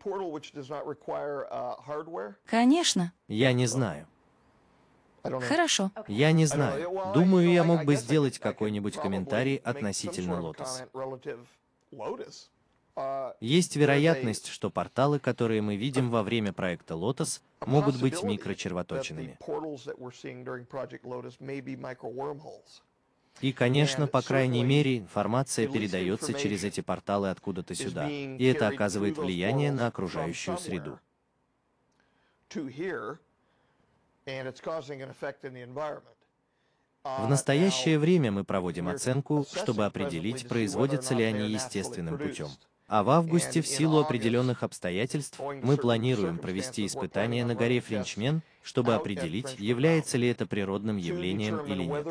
Конечно. Я не знаю. Хорошо. Я не знаю. Думаю, я мог бы сделать какой-нибудь комментарий относительно Лотос. Есть вероятность, что порталы, которые мы видим во время проекта Лотос, могут быть микрочервоточинами. И, конечно, по крайней мере, информация передается через эти порталы откуда-то сюда, и это оказывает влияние на окружающую среду. В настоящее время мы проводим оценку, чтобы определить, производятся ли они естественным путем. А в августе, в силу определенных обстоятельств, мы планируем провести испытания на горе Френчмен, чтобы определить, является ли это природным явлением или нет.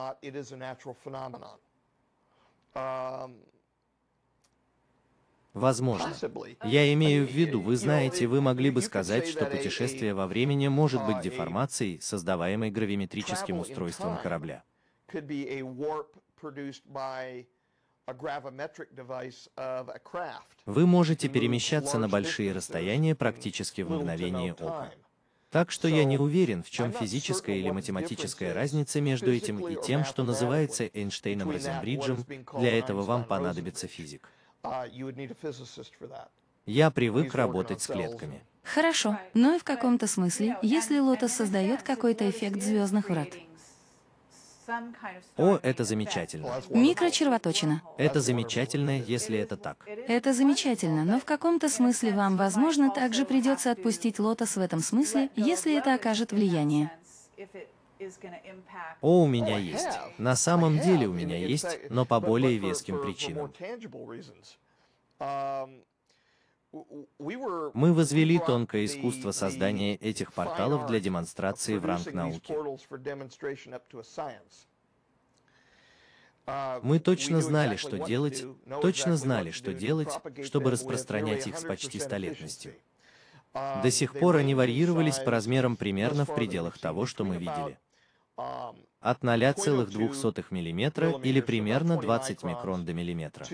Возможно. Я имею в виду, вы знаете, вы могли бы сказать, что путешествие во времени может быть деформацией, создаваемой гравиметрическим устройством корабля. Вы можете перемещаться на большие расстояния практически в мгновение ока. Так что я не уверен, в чем физическая или математическая разница между этим и тем, что называется Эйнштейном-Розенбриджем. Для этого вам понадобится физик. Я привык работать с клетками. Хорошо, но и в каком-то смысле, если Лотос создает какой-то эффект звездных врат. О, это замечательно. Микрочервоточина. Это замечательно, если это так. Это замечательно, но в каком-то смысле вам, возможно, также придется отпустить лотос в этом смысле, если это окажет влияние. О, у меня есть. На самом деле у меня есть, но по более веским причинам. Мы возвели тонкое искусство создания этих порталов для демонстрации в ранг науки. Мы точно знали, что делать, точно знали, что делать, чтобы распространять их с почти столетностью. До сих пор они варьировались по размерам примерно в пределах того, что мы видели. От ноль целых две десятых миллиметра или примерно двадцать микрон до миллиметра.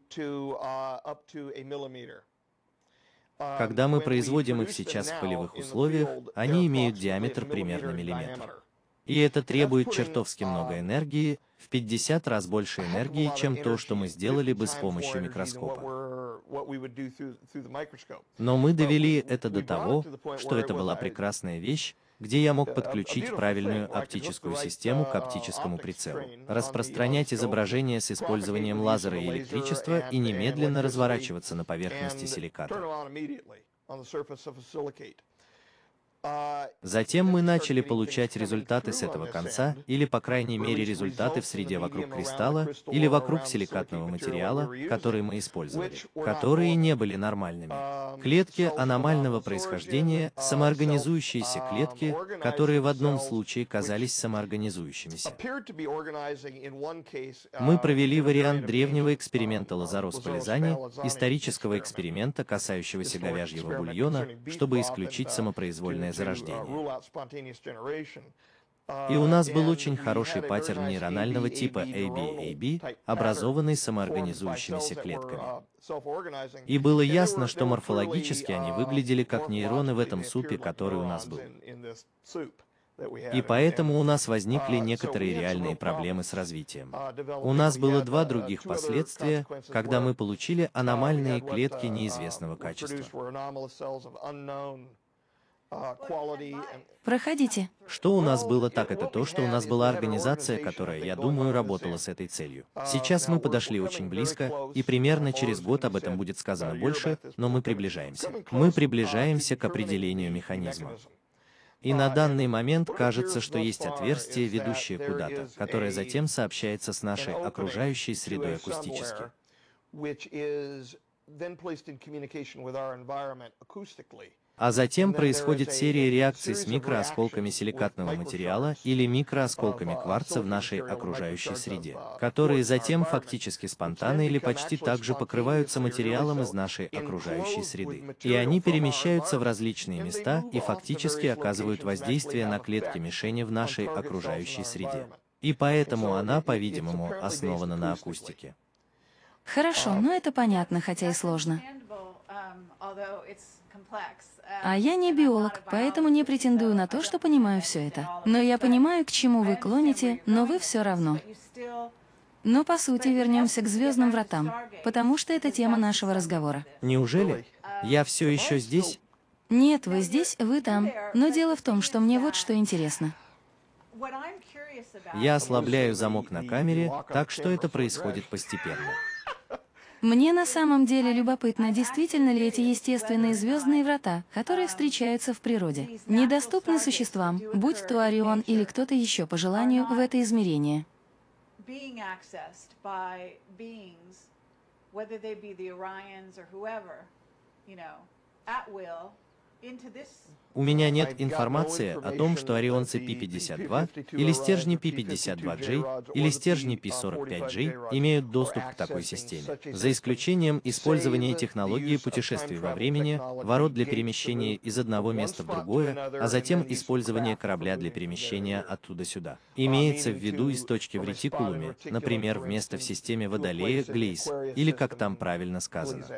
Когда мы производим их сейчас в полевых условиях, они имеют диаметр примерно миллиметр. И это требует чертовски много энергии, в пятьдесят раз больше энергии, чем то, что мы сделали бы с помощью микроскопа. Но мы довели это до того, что это была прекрасная вещь, где я мог подключить правильную оптическую систему к оптическому прицелу, распространять изображение с использованием лазера и электричества и немедленно разворачиваться на поверхности силиката. Затем мы начали получать результаты с этого конца, или по крайней мере результаты в среде вокруг кристалла, или вокруг силикатного материала, который мы использовали, которые не были нормальными. Клетки аномального происхождения, самоорганизующиеся клетки, которые в одном случае казались самоорганизующимися. Мы провели вариант древнего эксперимента Лазарос Полизани, исторического эксперимента, касающегося говяжьего бульона, чтобы исключить самопроизвольное зарождение. И у нас был очень хороший паттерн нейронального типа эй би эй би, образованный самоорганизующимися клетками. И было ясно, что морфологически они выглядели как нейроны в этом супе, который у нас был. И поэтому у нас возникли некоторые реальные проблемы с развитием. У нас было два других последствия, когда мы получили аномальные клетки неизвестного качества. Проходите. Что у нас было так, это то, что у нас была организация, которая, я думаю, работала с этой целью. Сейчас мы подошли очень близко, и примерно через год об этом будет сказано больше, но мы приближаемся. Мы приближаемся к определению механизма. И на данный момент кажется, что есть отверстие, ведущее куда-то, которое затем сообщается с нашей окружающей средой акустически. А затем происходит серия реакций с микроосколками силикатного материала или микроосколками кварца в нашей окружающей среде, которые затем фактически спонтанно или почти так же покрываются материалом из нашей окружающей среды. И они перемещаются в различные места и фактически оказывают воздействие на клетки мишени в нашей окружающей среде. И поэтому она, по-видимому, основана на акустике. Хорошо, но это понятно, хотя и сложно. А я не биолог, поэтому не претендую на то, что понимаю все это. Но я понимаю, к чему вы клоните, но вы все равно. Но по сути вернемся к звездным вратам, потому что это тема нашего разговора. Неужели? Я все еще здесь? Нет, вы здесь, вы там. Но дело в том, что мне вот что интересно. Я ослабляю замок на камере, так что это происходит постепенно. Мне на самом деле любопытно, действительно ли эти естественные звездные врата, которые встречаются в природе, недоступны существам, будь то Орион или кто-то еще по желанию, в это измерение. У меня нет информации о том, что орионцы пи пятьдесят два, или стержни пи пятьдесят два джей, или стержни пи сорок пять джей имеют доступ к такой системе, за исключением использования технологии путешествий во времени, ворот для перемещения из одного места в другое, а затем использования корабля для перемещения оттуда сюда. Имеется в виду из точки в ретикулуме, например, вместо в системе Водолея Глейс, или как там правильно сказано.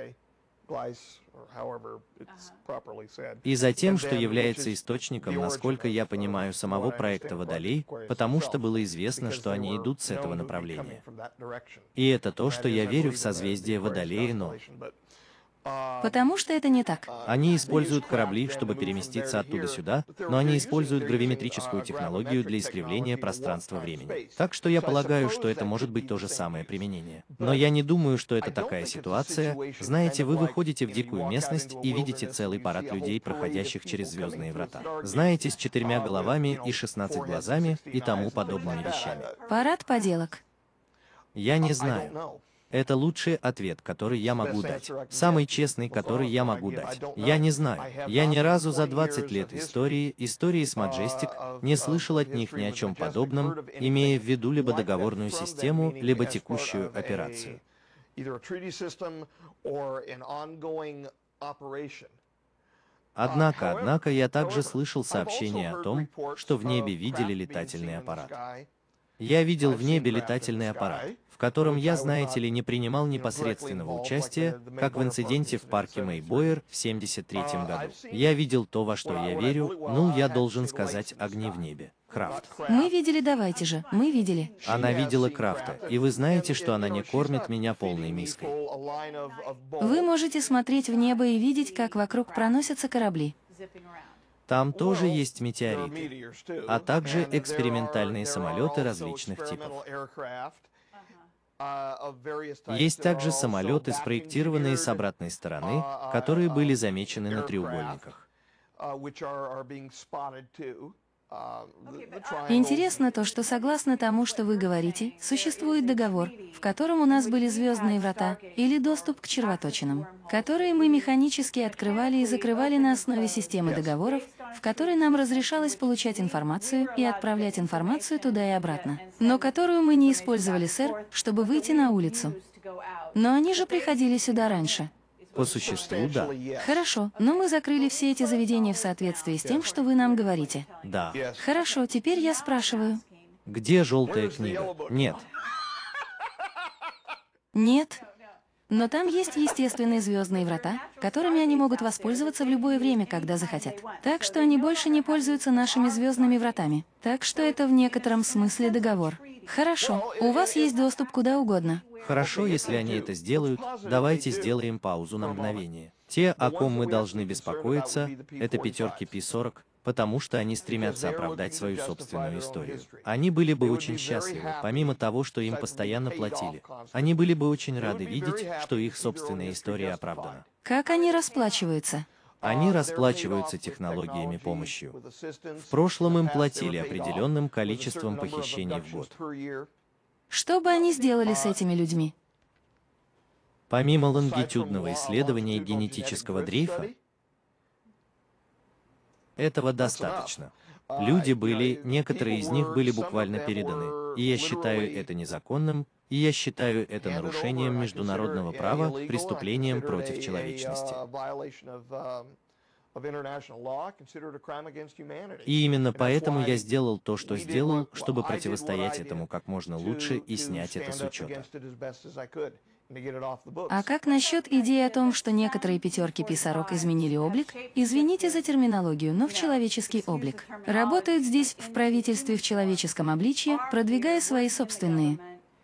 И затем, что является источником, насколько я понимаю, самого проекта Водолей, потому что было известно, что они идут с этого направления. И это то, что я верю в созвездие Водолея, но... Потому что это не так. Они используют корабли, чтобы переместиться оттуда сюда, но они используют гравиметрическую технологию для искривления пространства-времени. Так что я полагаю, что это может быть то же самое применение. Но я не думаю, что это такая ситуация. Знаете, вы выходите в дикую местность и видите целый парад людей, проходящих через звездные врата. Знаете, с четырьмя головами и шестнадцать глазами и тому подобными вещами. Парад поделок. Я не знаю. Это лучший ответ, который я могу дать. Самый честный, который я могу дать. Я не знаю. Я ни разу за двадцать лет истории, истории с Majestic, не слышал от них ни о чем подобном, имея в виду либо договорную систему, либо текущую операцию. Однако, однако, я также слышал сообщения о том, что в небе видели летательный аппарат. Я видел в небе летательный аппарат, в котором я, знаете ли, не принимал непосредственного участия, как в инциденте в парке Мейбойер в семьдесят третьем году. Я видел то, во что я верю, ну, я должен сказать, огни в небе. Крафт. Мы видели, давайте же, мы видели. Она видела Крафта, и вы знаете, что она не кормит меня полной миской. Вы можете смотреть в небо и видеть, как вокруг проносятся корабли. Там тоже есть метеориты, а также экспериментальные самолеты различных типов. Есть также самолеты, спроектированные с обратной стороны, которые были замечены на треугольниках. Интересно то, что согласно тому, что вы говорите, существует договор, в котором у нас были звездные врата или доступ к червоточинам, которые мы механически открывали и закрывали на основе системы договоров, в которой нам разрешалось получать информацию и отправлять информацию туда и обратно, но которую мы не использовали, сэр, чтобы выйти на улицу. Но они же приходили сюда раньше. По существу, да. Хорошо, но мы закрыли все эти заведения в соответствии с тем, что вы нам говорите. Да. Хорошо, теперь я спрашиваю. Где желтая книга? Нет. Нет. Но там есть естественные звездные врата, которыми они могут воспользоваться в любое время, когда захотят. Так что они больше не пользуются нашими звездными вратами. Так что это в некотором смысле договор. Хорошо, у вас есть доступ куда угодно. Хорошо, если они это сделают, давайте сделаем паузу на мгновение. Те, о ком мы должны беспокоиться, это пятерки пи сорок, потому что они стремятся оправдать свою собственную историю. Они были бы очень счастливы, помимо того, что им постоянно платили. Они были бы очень рады видеть, что их собственная история оправдана. Как они расплачиваются? Они расплачиваются технологиями помощью. В прошлом им платили определенным количеством похищений в год. Что бы они сделали с этими людьми? Помимо лонгитюдного исследования генетического дрейфа, этого достаточно. Люди были, некоторые из них были буквально переданы, и я считаю это незаконным, и я считаю это нарушением международного права, преступлением против человечности. И именно поэтому я сделал то, что сделал, чтобы противостоять этому как можно лучше и снять это с учета. А как насчет идеи о том, что некоторые пятерки пи сорок изменили облик? Извините за терминологию, но в человеческий облик. Работают здесь, в правительстве в человеческом обличье, продвигая свои собственные.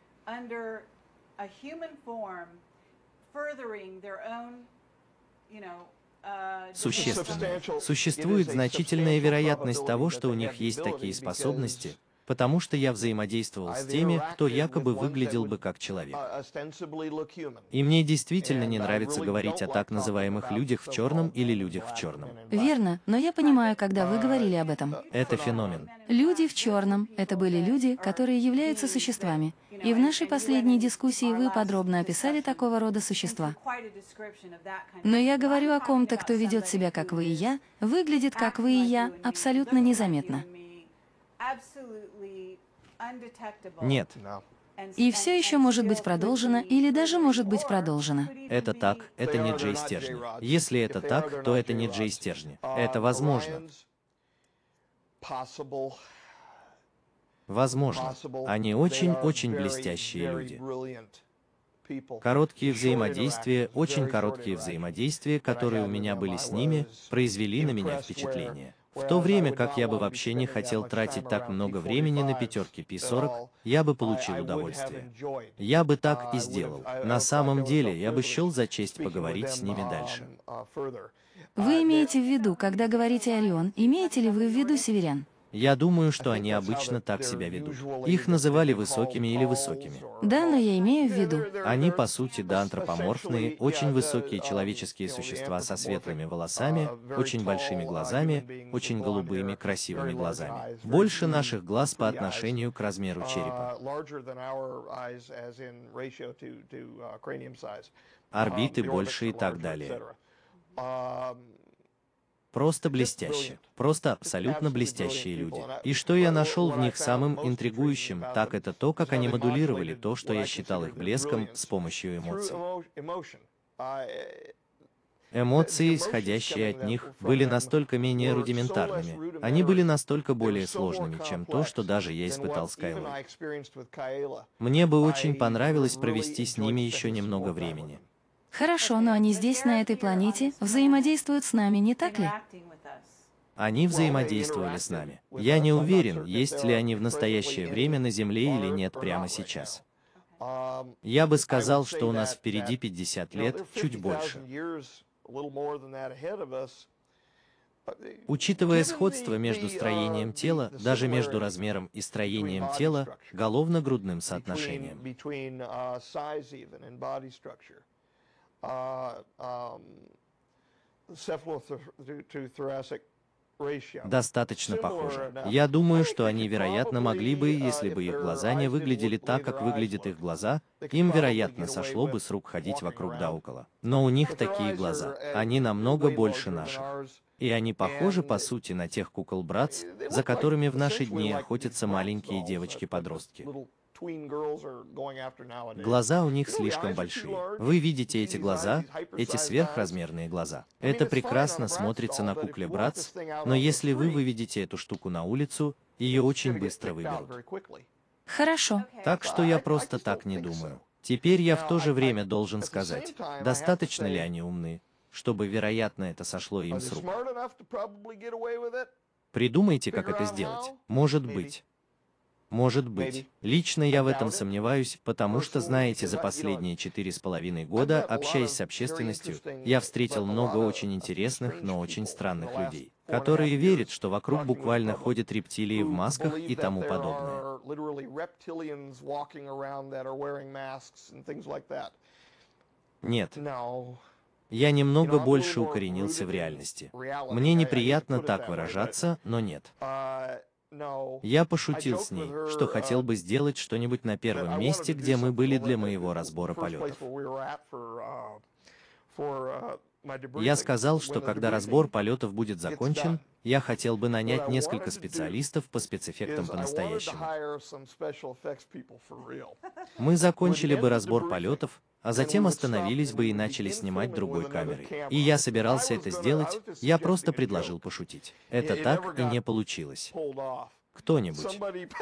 Существенно. Существует значительная вероятность того, что у них есть такие способности, потому что я взаимодействовал с теми, кто якобы выглядел бы как человек. И мне действительно не нравится говорить о так называемых людях в черном или людях в черном. Верно, но я понимаю, когда вы говорили об этом. Это феномен. Люди в черном — это были люди, которые являются существами. И в нашей последней дискуссии вы подробно описали такого рода существа. Но я говорю о ком-то, кто ведет себя как вы и я, выглядит как вы и я, абсолютно незаметно. Нет. И все еще может быть продолжено, или даже может быть продолжено. Это так, это не Джей Стержни. Если это так, то это не Джей Стержни. Это возможно. Возможно. Они очень-очень блестящие люди. Короткие взаимодействия, очень короткие взаимодействия, которые у меня были с ними, произвели на меня впечатление. В то время как я бы вообще не хотел тратить так много времени на пятерки пи сорок, я бы получил удовольствие. Я бы так и сделал. На самом деле, я бы счел за честь поговорить с ними дальше. Вы имеете в виду, когда говорите «Орион», имеете ли вы в виду северян? Я думаю, что они обычно так себя ведут. Их называли высокими или высокими. Да, но я имею в виду. Они, по сути, да, антропоморфные, очень высокие человеческие существа со светлыми волосами, очень большими глазами, очень голубыми, красивыми глазами. Больше наших глаз по отношению к размеру черепа. Орбиты больше и так далее. Просто блестяще. Просто абсолютно блестящие люди. И что я нашел в них самым интригующим, так это то, как они модулировали то, что я считал их блеском, с помощью эмоций. Эмоции, исходящие от них, были настолько менее рудиментарными. Они были настолько более сложными, чем то, что даже я испытал с Кайлой. Мне бы очень понравилось провести с ними еще немного времени. Хорошо, но они здесь, на этой планете, взаимодействуют с нами, не так ли? Они взаимодействовали с нами. Я не уверен, есть ли они в настоящее время на Земле или нет прямо сейчас. Я бы сказал, что у нас впереди пятьдесят лет, чуть больше. Учитывая сходство между строением тела, даже между размером и строением тела, головно-грудным соотношением. Достаточно похоже. Я думаю, что они, вероятно, могли бы, если бы их глаза не выглядели так, как выглядят их глаза, им, вероятно, сошло бы с рук ходить вокруг да около. Но у них такие глаза. Они намного больше наших. И они похожи, по сути, на тех кукол Братц, за которыми в наши дни охотятся маленькие девочки-подростки. Глаза у них слишком большие. Вы видите эти глаза, эти сверхразмерные глаза. Это прекрасно смотрится на кукле Братц, но если вы выведете эту штуку на улицу, ее очень быстро выберут. Хорошо. Так что я просто так не думаю. Теперь я в то же время должен сказать, достаточно ли они умны, чтобы, вероятно, это сошло им с рук. Придумайте, как это сделать. Может быть. Может быть. Лично я в этом сомневаюсь, потому что, знаете, за последние четыре с половиной года, общаясь с общественностью, я встретил много очень интересных, но очень странных людей, которые верят, что вокруг буквально ходят рептилии в масках и тому подобное. Нет. Я немного больше укоренился в реальности. Мне неприятно так выражаться, но нет. Я пошутил с ней, что хотел бы сделать что-нибудь на первом месте, где мы были для моего разбора полетов. Я сказал, что когда разбор полетов будет закончен, я хотел бы нанять несколько специалистов по спецэффектам по-настоящему. Мы закончили бы разбор полетов, а затем остановились бы и начали снимать другой камерой. И я собирался это сделать, я просто предложил пошутить. Это так и не получилось. Кто-нибудь.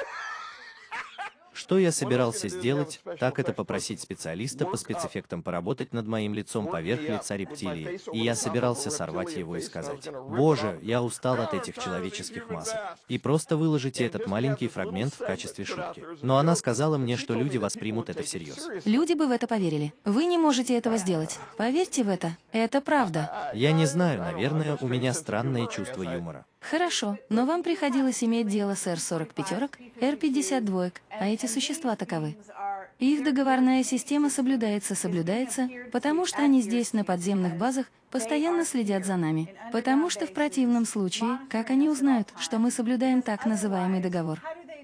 Что я собирался сделать, так это попросить специалиста по спецэффектам поработать над моим лицом поверх лица рептилии, и я собирался сорвать его и сказать: «Боже, я устал от этих человеческих масок», и просто выложите этот маленький фрагмент в качестве шутки. Но она сказала мне, что люди воспримут это всерьез. Люди бы в это поверили. Вы не можете этого сделать. Поверьте в это. Это правда. Я не знаю, наверное, у меня странное чувство юмора. Хорошо, но вам приходилось иметь дело с эр сорок пятерок, эр пятьдесят два, а эти существа таковы. Их договорная система соблюдается, соблюдается, потому что они здесь, на подземных базах, постоянно следят за нами. Потому что в противном случае, как они узнают, что мы соблюдаем так называемый договор?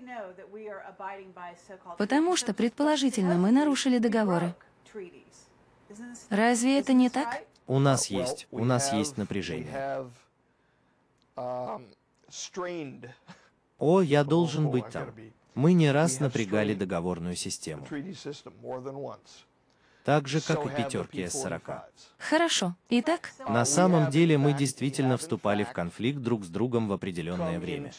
Потому что, предположительно, мы нарушили договоры. Разве это не так? У нас есть, у нас есть напряжение. О, я должен быть там. Мы не раз напрягали договорную систему. Так же, как и пятерки эс сорок. Хорошо. Итак? На самом деле мы действительно вступали в конфликт друг с другом в определенное время.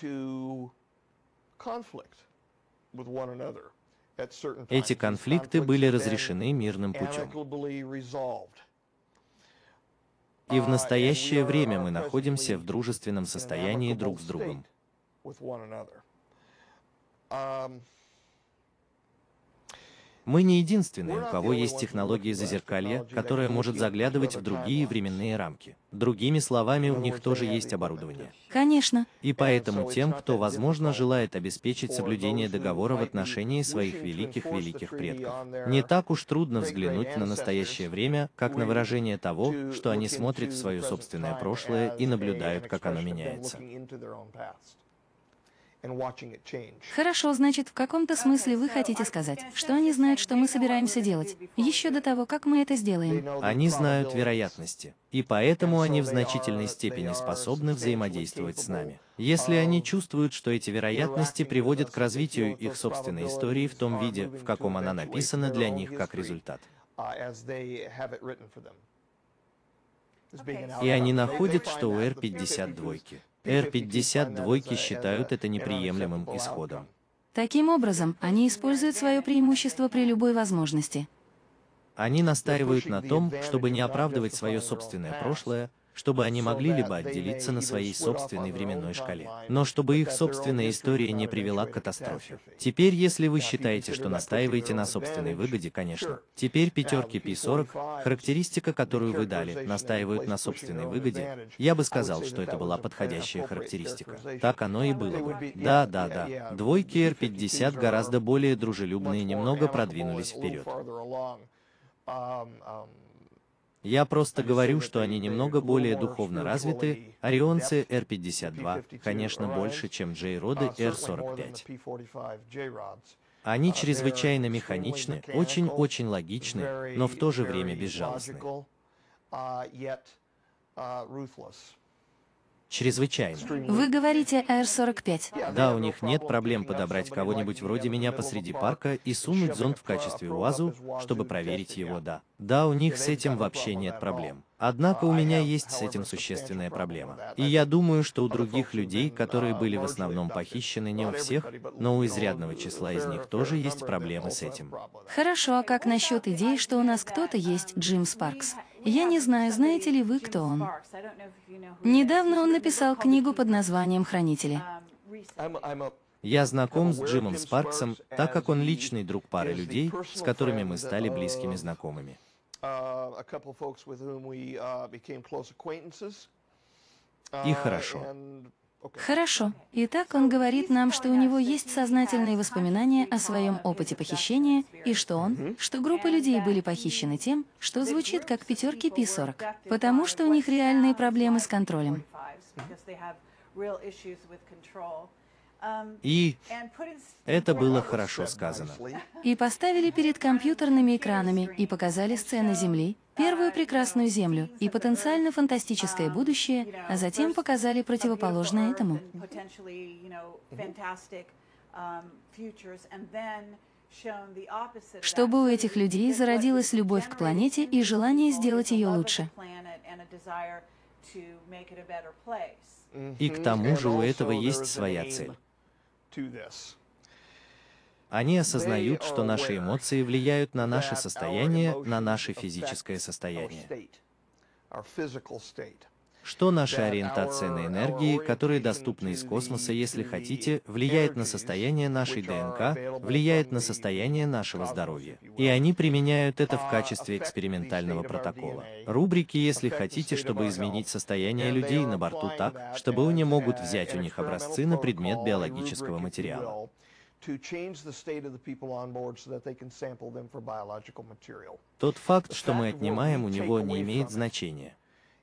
Эти конфликты были разрешены мирным путем. И в настоящее время мы находимся в дружественном состоянии друг с другом. Мы не единственные, у кого есть технология зазеркалья, которая может заглядывать в другие временные рамки. Другими словами, у них тоже есть оборудование. Конечно. И поэтому тем, кто, возможно, желает обеспечить соблюдение договора в отношении своих великих-великих предков, не так уж трудно взглянуть на настоящее время, как на выражение того, что они смотрят в свое собственное прошлое и наблюдают, как оно меняется. Хорошо, значит, в каком-то смысле вы хотите сказать, что они знают, что мы собираемся делать, еще до того, как мы это сделаем. Они знают вероятности, и поэтому они в значительной степени способны взаимодействовать с нами. Если они чувствуют, что эти вероятности приводят к развитию их собственной истории в том виде, в каком она написана для них как результат. И они находят, что у Р пятьдесят два Р пятьдесят два считают это неприемлемым исходом. Таким образом, они используют свое преимущество при любой возможности. Они настаивают на том, чтобы не оправдывать свое собственное прошлое, чтобы они могли либо отделиться на своей собственной временной шкале, но чтобы их собственная история не привела к катастрофе. Теперь, если вы считаете, что настаиваете на собственной выгоде, конечно. Теперь пятерки пи сорок, характеристика, которую вы дали, настаивают на собственной выгоде. Я бы сказал, что это была подходящая характеристика. Так оно и было бы. Да, да, да. Двойки Р пятьдесят гораздо более дружелюбные, немного продвинулись вперед. Я просто говорю, что они немного более духовно развиты. Орионцы Р пятьдесят два, конечно, больше, чем Джей-роды Р сорок пять. Они чрезвычайно механичны, очень-очень логичны, но в то же время безжалостны. Чрезвычайно. Вы говорите Р сорок пять. Да, у них нет проблем подобрать кого-нибудь вроде меня посреди парка и сунуть зонт в качестве УАЗу, чтобы проверить его, да. Да, у них с этим вообще нет проблем. Однако у меня есть с этим существенная проблема. И я думаю, что у других людей, которые были в основном похищены, не у всех, но у изрядного числа из них тоже есть проблемы с этим. Хорошо, а как насчет идеи, что у нас кто-то есть Джим Спаркс? Я не знаю, знаете ли вы, кто он. Недавно он написал книгу под названием «Хранители». Я знаком с Джимом Спарксом, так как он личный друг пары людей, с которыми мы стали близкими знакомыми. И хорошо. Хорошо. Итак, он говорит нам, что у него есть сознательные воспоминания о своем опыте похищения, и что он, что группа людей были похищены тем, что звучит как пятерки пи сорок, потому что у них реальные проблемы с контролем. И это было хорошо сказано. И поставили перед компьютерными экранами и показали сцены Земли, первую прекрасную Землю и потенциально фантастическое будущее, а затем показали противоположное этому. Чтобы у этих людей зародилась любовь к планете и желание сделать ее лучше. И к тому же у этого есть своя цель. Они осознают, что наши эмоции влияют на наше состояние, на наше физическое состояние. Что наша ориентация на энергии, которые доступны из космоса, если хотите, влияет на состояние нашей ДНК, влияет на состояние нашего здоровья. И они применяют это в качестве экспериментального протокола. Рубрики, если хотите, чтобы изменить состояние людей на борту так, чтобы они могут взять у них образцы на предмет биологического материала. Тот факт, что мы отнимаем у него, не имеет значения.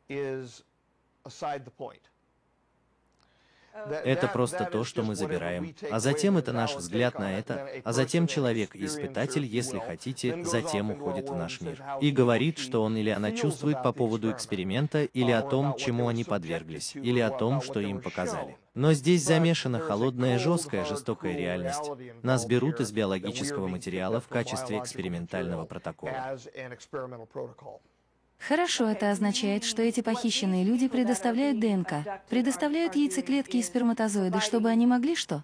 Это просто то, что мы забираем, а затем это наш взгляд на это, а затем человек-испытатель, если хотите, затем уходит в наш мир и говорит, что он или она чувствует по поводу эксперимента, или о том, чему они подверглись, или о том, что им показали. Но здесь замешана холодная, жесткая, жестокая реальность. Нас берут из биологического материала в качестве экспериментального протокола. Хорошо, это означает, что эти похищенные люди предоставляют ДНК, предоставляют яйцеклетки и сперматозоиды, чтобы они могли что?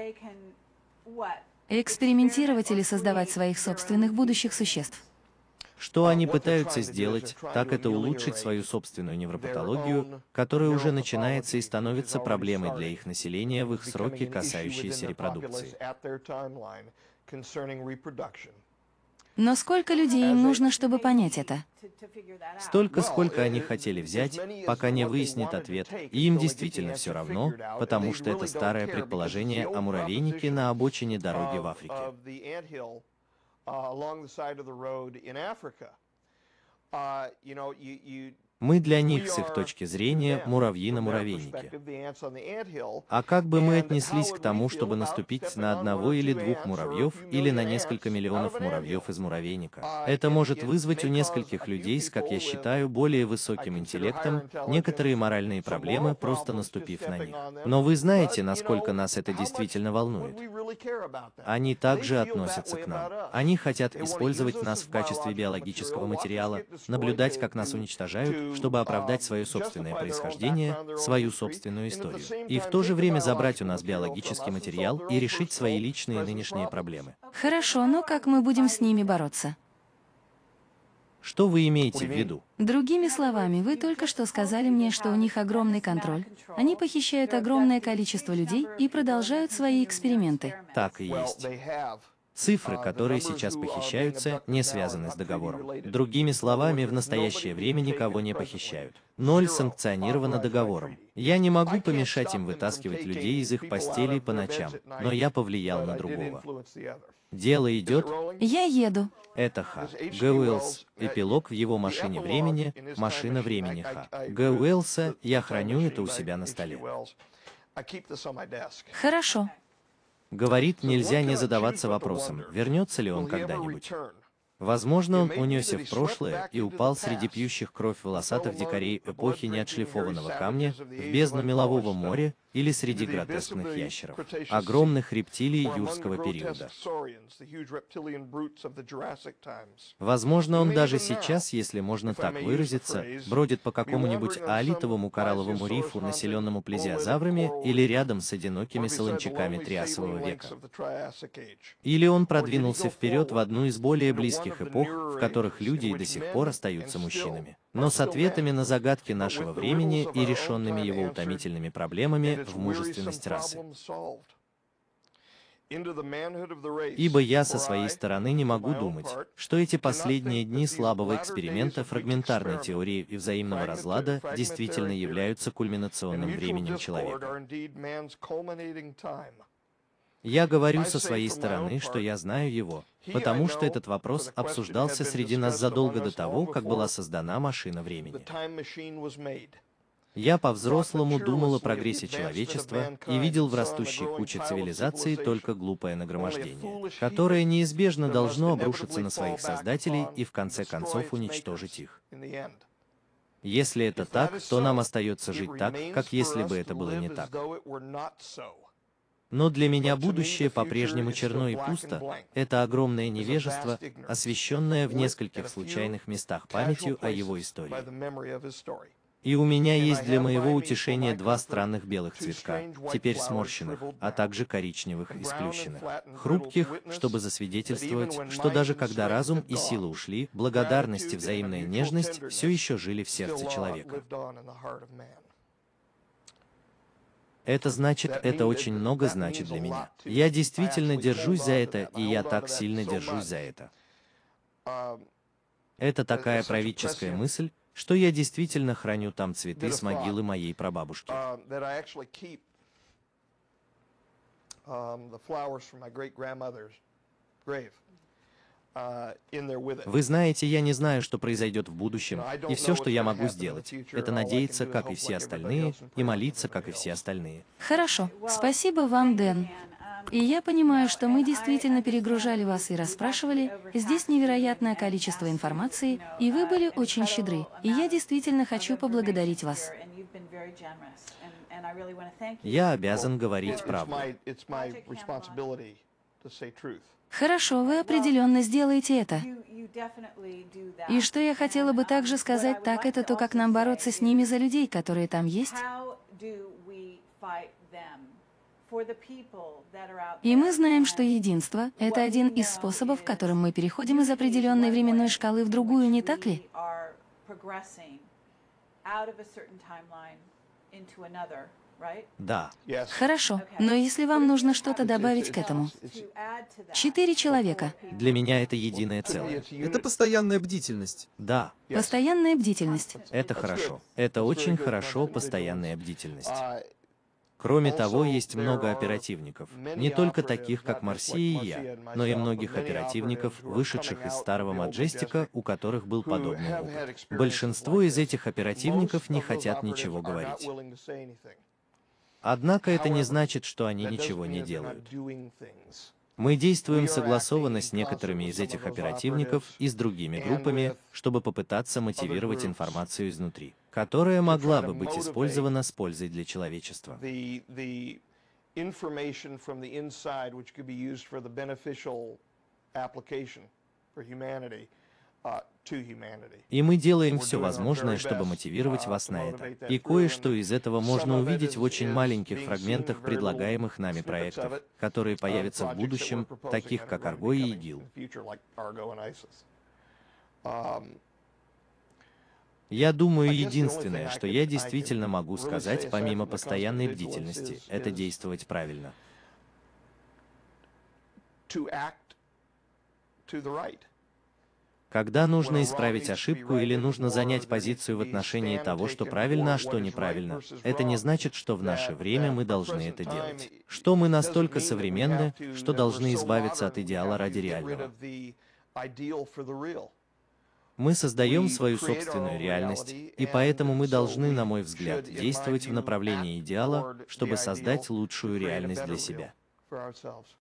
Экспериментировать или создавать своих собственных будущих существ. Что они пытаются сделать, так это улучшить свою собственную невропатологию, которая уже начинается и становится проблемой для их населения в их сроки, касающиеся репродукции. Но сколько людей им нужно, чтобы понять это? Столько, сколько они хотели взять, пока не выяснит ответ, и им действительно все равно, потому что это старое предположение о муравейнике на обочине дороги в Африке. Мы для них, с их точки зрения, муравьи на муравейнике. А как бы мы отнеслись к тому, чтобы наступить на одного или двух муравьев, или на несколько миллионов муравьев из муравейника? Это может вызвать у нескольких людей с, как я считаю, более высоким интеллектом, некоторые моральные проблемы, просто наступив на них. Но вы знаете, насколько нас это действительно волнует. Они также относятся к нам. Они хотят использовать нас в качестве биологического материала, наблюдать, как нас уничтожают, чтобы оправдать свое собственное происхождение, свою собственную историю, и в то же время забрать у нас биологический материал и решить свои личные нынешние проблемы. Хорошо, но как мы будем с ними бороться? Что вы имеете в виду? Другими словами, вы только что сказали мне, что у них огромный контроль. Они похищают огромное количество людей и продолжают свои эксперименты. Так и есть. Цифры, которые сейчас похищаются, не связаны с договором. Другими словами, в настоящее время никого не похищают. Ноль санкционировано договором. Я не могу помешать им вытаскивать людей из их постелей по ночам, но я повлиял на другого. Дело идет. Я еду. Это Х. Г. Уэллс. Эпилог в его машине времени, машина времени Х. Г. Уэллса, я храню это у себя на столе. Хорошо. Говорит, нельзя не задаваться вопросом, вернется ли он когда-нибудь. Возможно, он унесся в прошлое и упал среди пьющих кровь волосатых дикарей эпохи неотшлифованного камня в бездну мелового моря или среди гротескных ящеров, огромных рептилий юрского периода. Возможно, он даже сейчас, если можно так выразиться, бродит по какому-нибудь аолитовому коралловому рифу, населенному плезиозаврами, или рядом с одинокими солончаками Триасового века. Или он продвинулся вперед в одну из более близких эпох, в которых люди и до сих пор остаются мужчинами, но с ответами на загадки нашего времени и решенными его утомительными проблемами в мужественность расы. Ибо я со своей стороны не могу думать, что эти последние дни слабого эксперимента фрагментарной теории и взаимного разлада действительно являются кульминационным временем человека. Я говорю со своей стороны, что я знаю его, потому что этот вопрос обсуждался среди нас задолго до того, как была создана машина времени. Я по-взрослому думал о прогрессе человечества и видел в растущей куче цивилизаций только глупое нагромождение, которое неизбежно должно обрушиться на своих создателей и в конце концов уничтожить их. Если это так, то нам остается жить так, как если бы это было не так. Но для меня будущее по-прежнему черно и пусто. Это огромное невежество, освещенное в нескольких случайных местах памятью о его истории. И у меня есть для моего утешения два странных белых цветка, теперь сморщенных, а также коричневых и сплющенных, хрупких, чтобы засвидетельствовать, что даже когда разум и сила ушли, благодарность и взаимная нежность все еще жили в сердце человека. Это значит, это очень много значит для меня. Я действительно держусь за это, и я так сильно держусь за это. Это такая правительская мысль, что я действительно храню там цветы с могилы моей прабабушки. Вы знаете, я не знаю, что произойдет в будущем, и все, что я могу сделать, это надеяться, как и все остальные, и молиться, как и все остальные. Хорошо. Спасибо вам, Дэн. И я понимаю, что мы действительно перегружали вас и расспрашивали. Здесь невероятное количество информации, и вы были очень щедры. И я действительно хочу поблагодарить вас. Я обязан говорить правду. Хорошо, вы определенно сделаете это. И что я хотела бы также сказать, так это то, как нам бороться с ними за людей, которые там есть. И мы знаем, что единство — это один из способов, которым мы переходим из определенной временной шкалы в другую, не так ли? Да. Хорошо, но если вам нужно что-то добавить к этому. Четыре человека. Для меня это единое целое. Это постоянная бдительность. Да, Постоянная бдительность. это хорошо. Это очень хорошо, постоянная бдительность. Кроме того, есть много оперативников, не только таких, как Марсия и я, но и многих оперативников, вышедших из старого Маджестика, у которых был подобный опыт. Большинство из этих оперативников не хотят ничего говорить. Однако это не значит, что они ничего не делают. Мы действуем согласованно с некоторыми из этих оперативников и с другими группами, чтобы попытаться мотивировать информацию изнутри, которая могла бы быть использована с пользой для человечества. И мы делаем все возможное, чтобы мотивировать вас на это. И кое-что из этого можно увидеть в очень маленьких фрагментах предлагаемых нами проектов, которые появятся в будущем, таких как Арго и ИГИЛ. Я думаю, единственное, что я действительно могу сказать, помимо постоянной бдительности, это действовать правильно. Когда нужно исправить ошибку или нужно занять позицию в отношении того, что правильно, а что неправильно, это не значит, что в наше время мы должны это делать. Что мы настолько современны, что должны избавиться от идеала ради реального. Мы создаем свою собственную реальность, и поэтому мы должны, на мой взгляд, действовать в направлении идеала, чтобы создать лучшую реальность для себя.